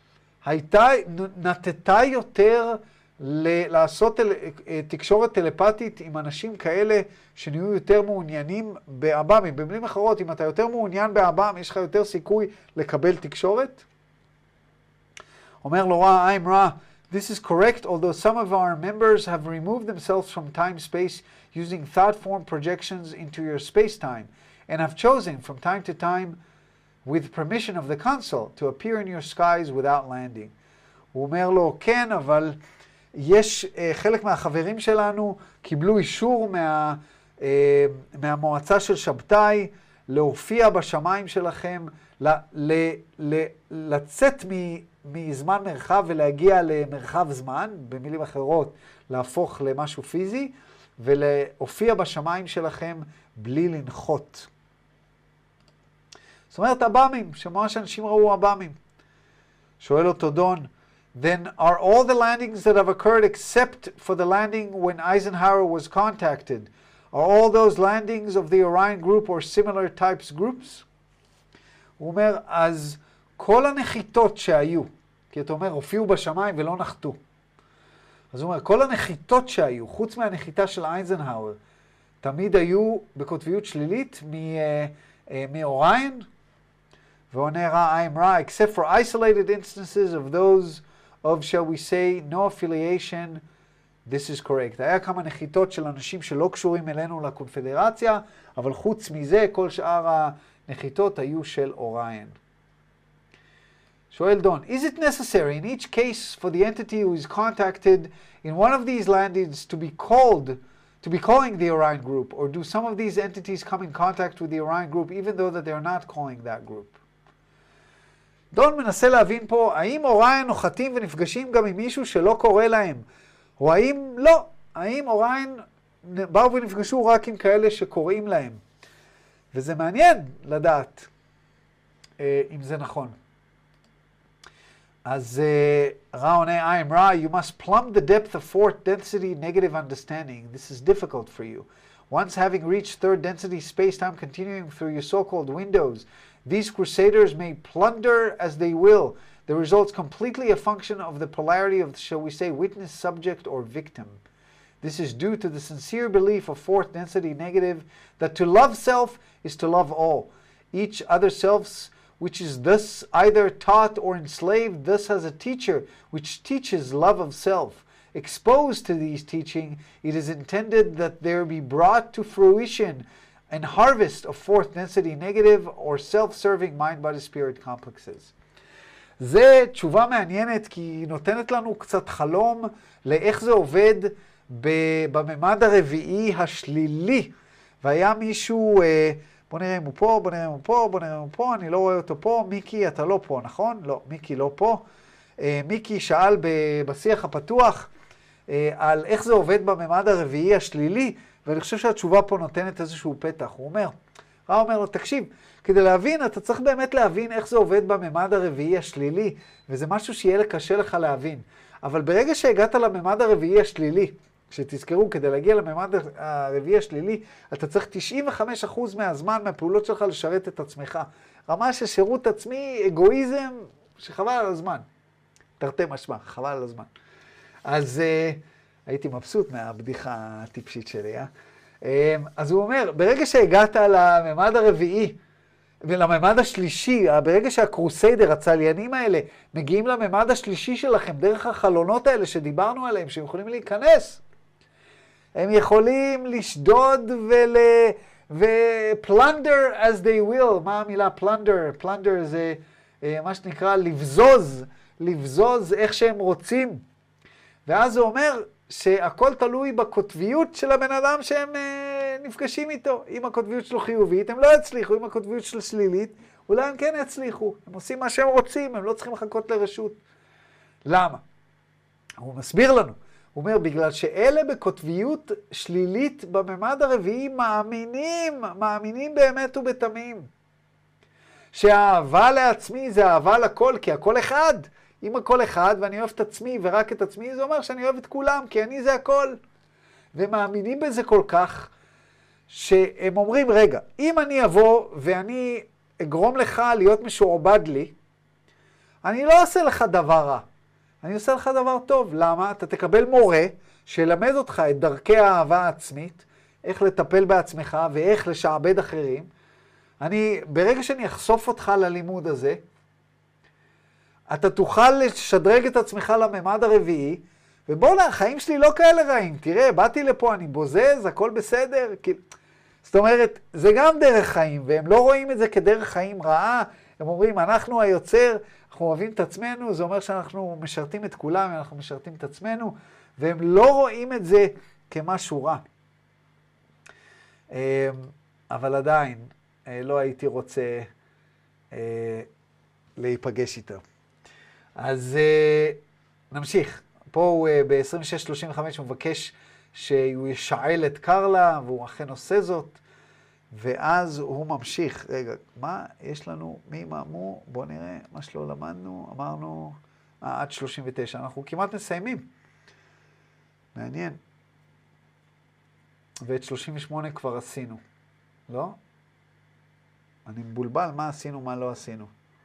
[SPEAKER 1] נטתה יותר לעשות תקשורת טלפתית עם אנשים כאלה שנהיו יותר מעוניינים באב"מים? במילים אחרות, אם אתה יותר מעוניין באב"ם, יש לך יותר סיכוי לקבל תקשורת? אומר לו האמרה, this is correct, although some of our members have removed themselves from time-space using thought-form projections into your space-time, and have chosen from time to time, with permission of the Council, to appear in your skies without landing. הוא אומר לו, כן, אבל יש חלק מהחברים שלנו קיבלו אישור מהמועצה של שבתאי להופיע בשמיים שלכם, לצאת מזמן מרחב ולהגיע למרחב זמן, במילים אחרות, להפוך למשהו פיזי, ולהופיע בשמיים שלכם בלי לנחות. זאת אומרת, אב"מים, שממש אנשים ראו אב"מים. שואל אותו דון, then are all the landings that have occurred except for the landing when Eisenhower was contacted, are all those landings of the Orion group or similar types groups? הוא אומר, אז כל הנחיתות שהיו, כי אתה אומר, הופיעו בשמיים ולא נחתו. אז הוא אומר, כל הנחיתות שהיו, חוץ מהנחיתה של אייזנהאואר, תמיד היו בקוטביות שלילית מאוריין, ועונה האמרה, except for isolated instances of those of, shall we say, no affiliation, this is correct. היה כמה נחיתות של אנשים שלא קשורים אלינו לקונפדרציה, אבל חוץ מזה, כל שאר הנחיתות היו של אוריין. שואל דון, is it necessary in each case for the entity who is contacted in one of these landings to be calling the Orion group, or do some of these entities come in contact with the Orion group even though that they're not calling that group? דון מנסה להבין פה, האם אוריין נוחתים ונפגשים גם עם מישהו שלא קורא להם, או האם לא, האם אוריין באו ונפגשו רק עם כאלה שקוראים להם. וזה מעניין לדעת אם זה נכון. אז רע עונה, I am Ra, you must plumb the depth of fourth density negative understanding. This is difficult for you. Once having reached third density space-time continuing through your so-called windows, these crusaders may plunder as they will. The result's completely a function of the polarity of, shall we say, witness, subject, or victim. This is due to the sincere belief of fourth density negative that to love self is to love all. Each other selves, which is thus either taught or enslaved, thus has a teacher which teaches love of self. Exposed to these teaching, it is intended that there be brought to fruition an harvest of fourth density negative or self-serving mind, body, spirit complexes. זה תשובה מעניינת כי היא נותנת לנו קצת חלום לאיך זה עובד בממד הרביעי השלילי. והיה מישהו, בוא נראה אם הוא פה, בוא נראה אם הוא פה, בוא נראה אם הוא פה, אני לא רואה אותו פה. מיקי, אתה לא פה, נכון? לא, מיקי לא פה. מיקי שאל בשיח הפתוח על איך זה עובד בממד הרביעי השלילי, ואני חושב שהתשובה פה נותנת איזשהו פתח. הוא אומר לו, תקשיב, כדי להבין, אתה צריך באמת להבין איך זה עובד בממד הרביעי השלילי, וזה משהו שיהיה קשה לך להבין. אבל ברגע שהגעת לממד הרביעי השלילי, שתזכרו, כדי להגיע לממד הרביעי השלילי, אתה צריך 95% מהזמן מהפעולות שלך לשרת את עצמך. רמה של שירות עצמי, אגואיזם, שחבל על הזמן. תרתי משמע, חבל על הזמן. אז הייתי מבסוט מהבדיחה הטיפשית שלי, אז הוא אומר, ברגע שהגעת לממד הרביעי, ולממד השלישי, ברגע שהקרוסיידר, הצליינים האלה, מגיעים לממד השלישי שלכם, דרך החלונות האלה שדיברנו עליהם, שהם יכולים להיכנס, הם יכולים לשדוד ו-plunder as they will. מה המילה plunder? plunder זה מה שנקרא לבזוז איך שהם רוצים. ואז זה אומר שהכל תלוי בכותביות של הבן אדם שהם נפגשים איתו. אם הכותביות שלו חיובית, הם לא יצליחו. אם הכותביות שלו שלילית, אולי הם כן יצליחו. הם עושים מה שהם רוצים, הם לא צריכים לחכות לרשות. למה? הוא מסביר לנו. הוא אומר, בגלל שאלה בכותביות שלילית בממד הרביעי מאמינים באמת ובתמים. שהאהבה לעצמי זה אהבה לכל, כי הכל אחד. אם הכל אחד ואני אוהב את עצמי ורק את עצמי, זה אומר שאני אוהב את כולם, כי אני זה הכל. ומאמינים בזה כל כך, שהם אומרים, רגע, אם אני אבוא ואני אגרום לך להיות משועבד לי, אני לא אעשה לך דבר רע. אני עושה לך דבר טוב. למה? אתה תקבל מורה שילמד אותך את דרכי האהבה העצמית, איך לטפל בעצמך ואיך לשעבד אחרים. ברגע שאני אחשוף אותך ללימוד הזה, אתה תוכל לשדרג את עצמך לממד הרביעי, ובוא'נה, החיים שלי לא כאלה רעים. תראה, באתי לפה, אני בוזז, הכל בסדר. זאת אומרת, זה גם דרך חיים, והם לא רואים את זה כדרך חיים רעה. הם אומרים, אנחנו היוצר, אנחנו אוהבים את עצמנו, זה אומר שאנחנו משרתים את כולם, אנחנו משרתים את עצמנו, והם לא רואים את זה כמשהו רע. אבל עדיין, לא הייתי רוצה להיפגש איתו. אז נמשיך. פה הוא ב-26-35 הוא מבקש שהוא ישאל את קרלה, והוא אכן עושה זאת. ואז הוא ממשיך. רגע, מה יש לנו? מי מאמו? בואו נראה מה שלא למדנו. אמרנו, עד 39. אנחנו כמעט מסיימים. מעניין. ואת 38 כבר עשינו. לא? אני מבולבל מה עשינו, מה לא עשינו.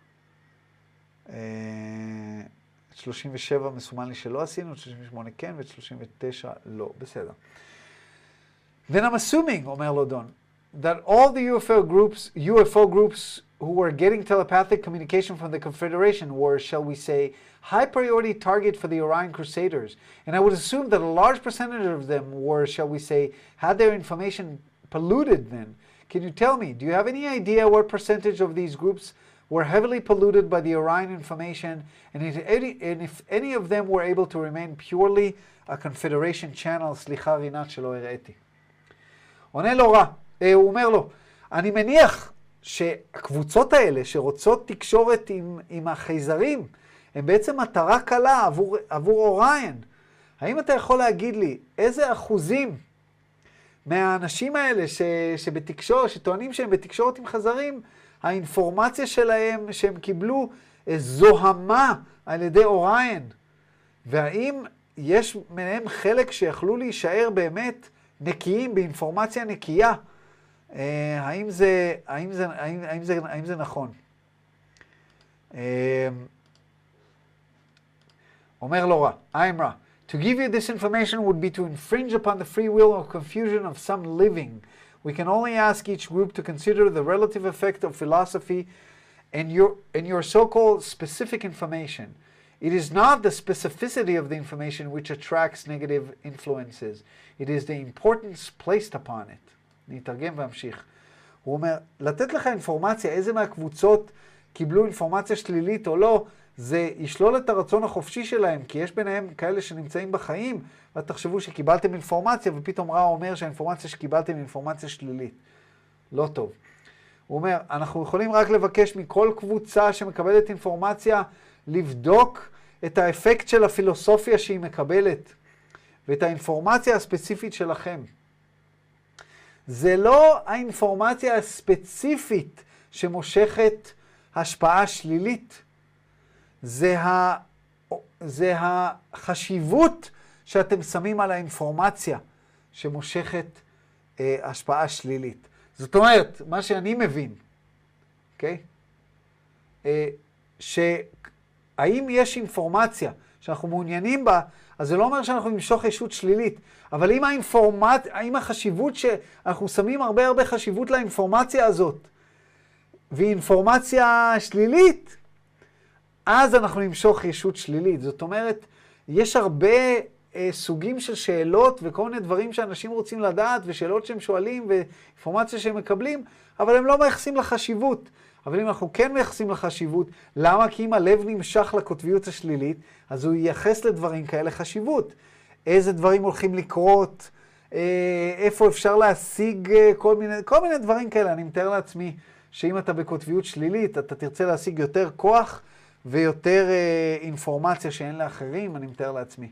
[SPEAKER 1] 37 מסומן לי שלא עשינו, 38 כן, ואת 39 לא. בסדר. Then I'm assuming, אומר לו דון, that all the UFO groups who were getting telepathic communication from the Confederation were, shall we say, high priority target for the Orion Crusaders. And I would assume that a large percentage of them were, shall we say, had their information polluted then. Can you tell me, do you have any idea what percentage of these groups were heavily polluted by the Orion information, and if any of them were able to remain purely a confederation channel, סליחה רינת שלא הראיתי. עונה לו רע, הוא אומר לו, אני מניח שהקבוצות האלה שרוצות תקשורת עם החייזרים, הם בעצם מטרה קלה עבור אוריין. האם אתה יכול להגיד לי איזה אחוזים מהאנשים האלה שבתקשורת, שטוענים שהם בתקשורת עם חזרים, האינפורמציה שלהם שהם קיבלו זוהמה על ידי אוריין? והאם יש מהם חלק שיכלו להישאר באמת נקיים, באינפורמציה נקייה? האם זה נכון? אומר לו רע, I'm רע. To give you this information would be to infringe upon the free will or confusion of some living. We can only ask each group to consider the relative effect of philosophy and your so-called specific information. It is not the specificity of the information which attracts negative influences. It is the importance placed upon it. נתרגם והמשיך. הוא אומר, לתת לך אינפורמציה, איזה מהקבוצות קיבלו אינפורמציה שלילית או לא, זה ישלול את הרצון החופשי שלהם, כי יש ביניהם כאלה שנמצאים בחיים, ותחשבו שקיבלתם אינפורמציה, ופתאום רע אומר שהאינפורמציה שקיבלתם היא אינפורמציה שלילית. לא טוב. הוא אומר, אנחנו יכולים רק לבקש מכל קבוצה שמקבלת אינפורמציה, לבדוק את האפקט של הפילוסופיה שהיא מקבלת, ואת האינפורמציה הספציפית שלכם. זה לא האינפורמציה הספציפית שמושכת השפעה שלילית, זה החשיבות שאתם שמים על האינפורמציה שמושכת השפעה שלילית. זאת אומרת, מה שאני מבין, אוקיי? שהאם יש אינפורמציה שאנחנו מעוניינים בה, אז זה לא אומר שאנחנו נמשוך ישות שלילית, אבל אם החשיבות שאנחנו שמים הרבה חשיבות לאינפורמציה הזאת, והיא אינפורמציה שלילית, אז אנחנו נמשוך ישות שלילית. זאת אומרת, יש הרבה סוגים של שאלות וכל מיני דברים שאנשים רוצים לדעת, ושאלות שהם שואלים ואינפורמציה שהם מקבלים, אבל הם לא מייחסים לחשיבות. אבל אם אנחנו כן מייחסים לחשיבות, למה? כי אם הלב נמשך לקוטביות השלילית, אז הוא ייחס לדברים כאלה חשיבות. איזה דברים הולכים לקרות, איפה אפשר להשיג כל מיני דברים כאלה. אני מתאר לעצמי שאם אתה בקוטביות שלילית, אתה תרצה להשיג יותר כוח ויותר אינפורמציה שאין לאחרים, אני מתאר לעצמי.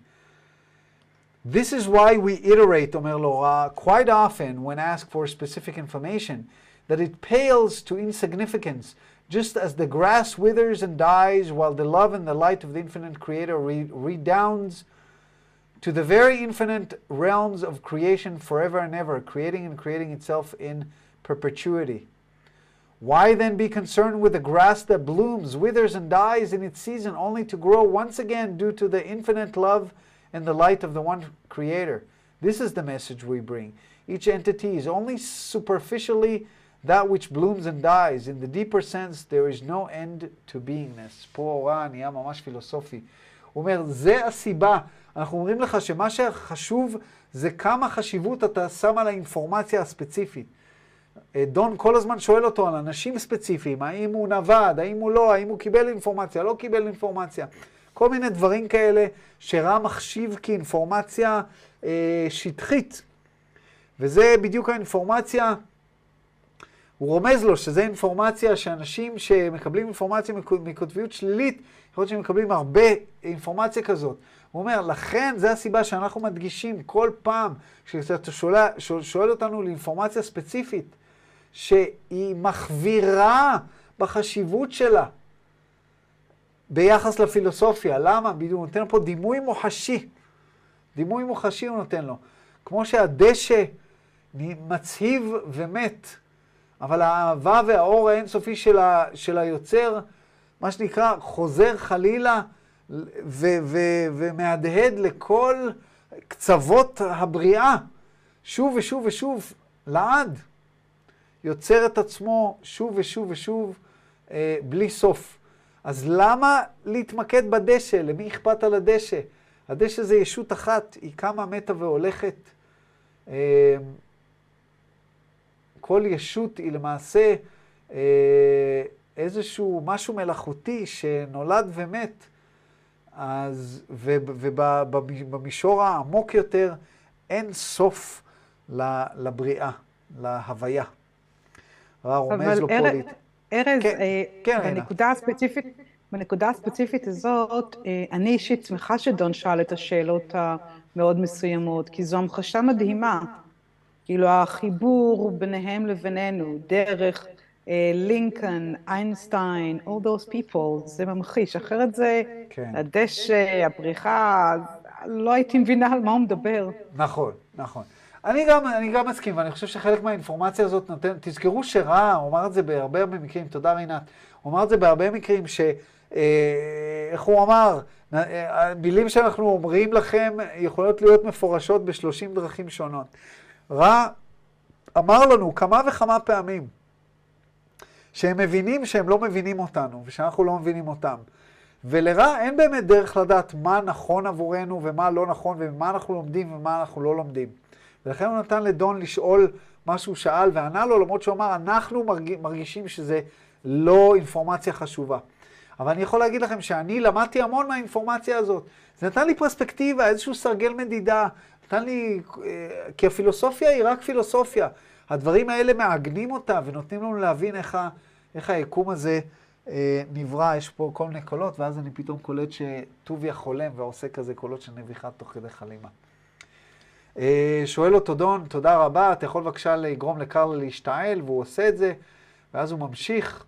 [SPEAKER 1] This is why we iterate, אומר לו, quite often when asked for specific information, that it pales to insignificance, just as the grass withers and dies while the love and the light of the infinite creator redounds to the very infinite realms of creation forever and ever, creating and creating itself in perpetuity. Why then be concerned with the grass that blooms, withers, and dies in its season, only to grow once again due to the infinite love and the light of the one Creator? This is the message we bring. Each entity is only superficially that which blooms and dies. In the deeper sense, there is no end to beingness. פה הוראה נהיה ממש פילוסופי. הוא אומר, זה הסיבה. אנחנו אומרים לך שמה שחשוב זה כמה חשיבות אתה שם על האינפורמציה הספציפית. דון כל הזמן שואל אותו על אנשים ספציפיים, האם הוא נווד, האם הוא לא, האם הוא קיבל אינפורמציה, לא קיבל אינפורמציה. כל מיני דברים כאלה שרע מחשיב כאינפורמציה שטחית. וזה בדיוק האינפורמציה, הוא רומז לו שזה אינפורמציה שאנשים שמקבלים אינפורמציה מקוטביות שלילית, יכול להיות שהם מקבלים הרבה אינפורמציה כזאת. הוא אומר, לכן זה הסיבה שאנחנו מדגישים כל פעם שאתה שואל אותנו לאינפורמציה ספציפית, שהיא מחבירה בחשיבות שלה ביחס לפילוסופיה. למה? בדיוק, הוא נותן פה דימוי מוחשי. דימוי מוחשי הוא נותן לו. כמו שהדשא מצהיב ומת, אבל האהבה והאור האינסופי של היוצר, מה שנקרא, חוזר חלילה ומהדהד לכל קצוות הבריאה, שוב ושוב ושוב, לעד. יוצר את עצמו שוב ושוב ושוב, בלי סוף. אז למה להתמקד בדשא? למי אכפת על הדשא? הדשא זה ישות אחת, היא קמה, מתה והולכת. כל ישות היא למעשה איזשהו משהו מלאכותי שנולד ומת, ובמישור העמוק יותר אין סוף לבריאה, להוויה. רומז לו פולית.
[SPEAKER 2] ארז,
[SPEAKER 1] כן,
[SPEAKER 2] בנקודה הספציפית הזאת, אני אישית שמחה שדון שאל את השאלות המאוד מסוימות, כי זו המחשה מדהימה. כאילו החיבור ביניהם לבינינו, דרך לינקולן, איינשטיין, all those people, זה ממחיש. אחרת זה הדשא, הבריחה, לא הייתי מבינה על מה הוא מדבר.
[SPEAKER 1] נכון, נכון. אני גם מסכים, ואני חושב שחלק מהאינפורמציה הזאת נותן, תזכרו שרע, הוא אמר את זה בהרבה מקרים, תודה רינת, הוא אמר את זה בהרבה מקרים איך הוא אמר, המילים שאנחנו אומרים לכם יכולות להיות מפורשות ב30 דרכים שונות. רע אמר לנו כמה וכמה פעמים שהם מבינים שהם לא מבינים אותנו, ושאנחנו לא מבינים אותם. ולרע אין באמת דרך לדעת מה נכון עבורנו ומה לא נכון, ומה אנחנו לומדים ומה אנחנו לא לומדים. ולכן הוא נתן לדון לשאול מה שהוא שאל, וענה לו, למרות שהוא אמר, אנחנו מרגישים שזה לא אינפורמציה חשובה. אבל אני יכול להגיד לכם שאני למדתי המון מהאינפורמציה הזאת. זה נתן לי פרספקטיבה, איזשהו סרגל מדידה. נתן לי, כי הפילוסופיה היא רק פילוסופיה. הדברים האלה מעגנים אותה ונותנים לנו להבין איך היקום הזה נברא. יש פה כל מיני קולות, ואז אני פתאום קולט שטוביה חולם ועושה כזה קולות של נביחה תוך כדי חלימה. שואל אותו דון, תודה רבה, אתה יכול בבקשה לגרום לקרלה להשתעל, והוא עושה את זה, ואז הוא ממשיך.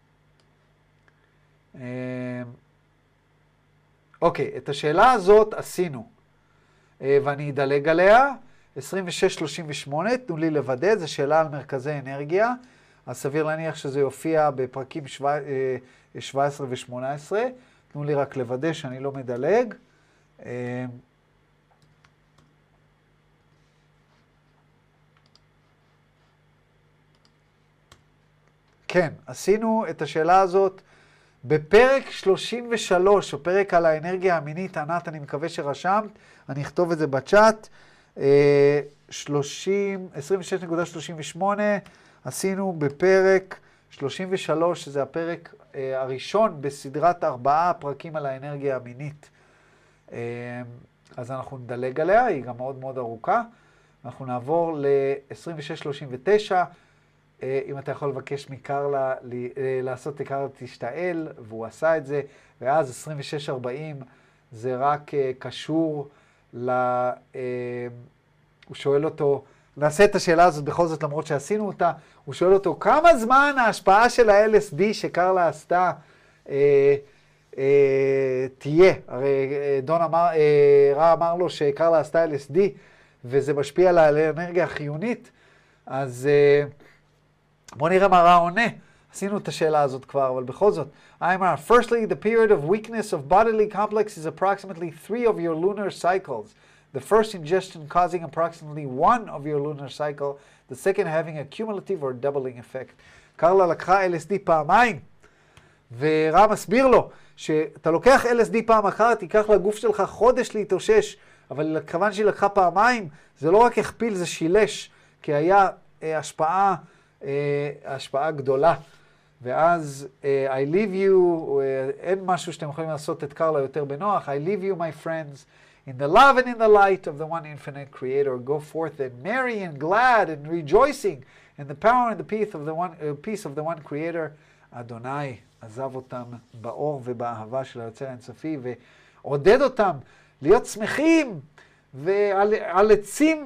[SPEAKER 1] אוקיי, את השאלה הזאת עשינו, ואני אדלג עליה. 26-38, תנו לי לוודא, זו שאלה על מרכזי אנרגיה, אז סביר להניח שזה יופיע בפרקים 17 ו-18, תנו לי רק לוודא שאני לא מדלג. כן, עשינו את השאלה הזאת בפרק 33, או פרק על האנרגיה המינית. ענת, אני מקווה שרשמת, אני אכתוב את זה בצ'אט. 26.38, עשינו בפרק 33, שזה הפרק הראשון בסדרת 4 פרקים על האנרגיה המינית. אז אנחנו נדלג עליה, היא גם מאוד מאוד ארוכה. אנחנו נעבור ל-26.39, אם אתה יכול לבקש מקרלה לעשות לקרלה תשתעל, והוא עשה את זה, ואז 26.40 זה רק קשור הוא שואל אותו, נעשה את השאלה הזאת בכל זאת למרות שעשינו אותה, הוא שואל אותו כמה זמן ההשפעה של ה-LSD שקרלה עשתה תהיה. הרי דון רע אמר לו שקרלה עשתה LSD וזה משפיע על האנרגיה החיונית, אז בוא נראה מה רע עונה. עשינו את השאלה הזאת כבר, אבל בכל זאת. Firstly, the period of weakness of bodily complex is approximately 3 of your lunar cycles. The first ingestion causing approximately 1 of your lunar cycle, the second having a cumulative or doubling effect. קרלה לקחה LSD פעמיים, ורע מסביר לו שאתה לוקח LSD פעם אחת, ייקח לגוף שלך חודש להתאושש, אבל כיוון שהיא לקחה פעמיים, זה לא רק הכפיל, זה שילש, כי היה השפעה גדולה. ואז I leave you, אין משהו שאתם יכולים לעשות את קרלה יותר בנוח. I leave you, my friends, in the love and in the light of the one infinite creator. Go forth and merry and glad and rejoicing in the power and the peace of the one creator. אדוני עזב אותם באור ובאהבה של היוצר האינסופי, ועודד אותם להיות שמחים ועל עצים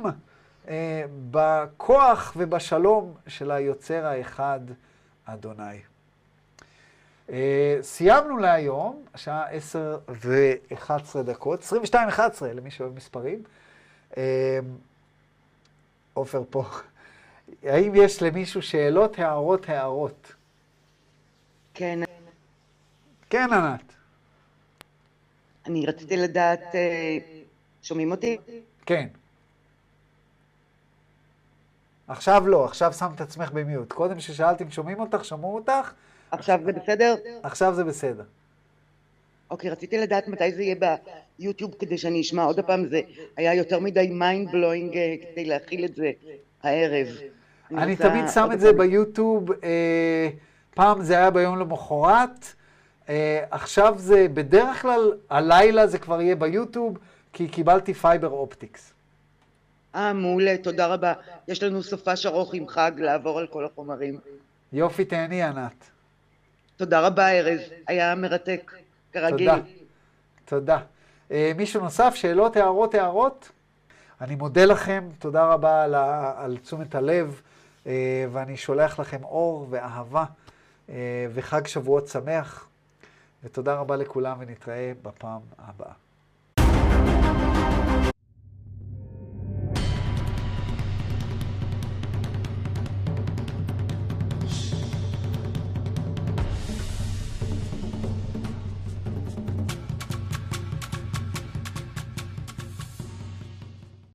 [SPEAKER 1] בכוח ובשלום של היוצר האחד, אדוני. סיימנו להיום, השעה 10:11, 22:11 למי שאוהב מספרים. עופר פה. האם יש למישהו שאלות, הערות?
[SPEAKER 3] כן.
[SPEAKER 1] כן, ענת.
[SPEAKER 3] אני רציתי לדעת, שומעים אותי?
[SPEAKER 1] כן. עכשיו לא, עכשיו שמת עצמך במיוט. קודם ששאלתי אם שומעים אותך, שמעו אותך?
[SPEAKER 3] עכשיו זה בסדר?
[SPEAKER 1] עכשיו זה בסדר.
[SPEAKER 3] אוקיי, רציתי לדעת מתי זה יהיה ביוטיוב כדי שאני אשמע עוד הפעם, זה היה יותר מדי mind blowing כדי להכיל את זה הערב.
[SPEAKER 1] אני תמיד שם את זה ביוטיוב, פעם זה היה ביום למחרת, עכשיו זה בדרך כלל, הלילה זה כבר יהיה ביוטיוב, כי קיבלתי פייבר אופטיקס.
[SPEAKER 3] מעולה, תודה רבה. יש לנו סופש ארוך עם חג לעבור על כל החומרים.
[SPEAKER 1] יופי, תהני ענת.
[SPEAKER 3] תודה רבה ארז, היה מרתק, כרגיל.
[SPEAKER 1] תודה. תודה. מישהו נוסף, שאלות, הערות? אני מודה לכם, תודה רבה על תשומת הלב, ואני שולח לכם אור ואהבה, וחג שבועות שמח, ותודה רבה לכולם, ונתראה בפעם הבאה.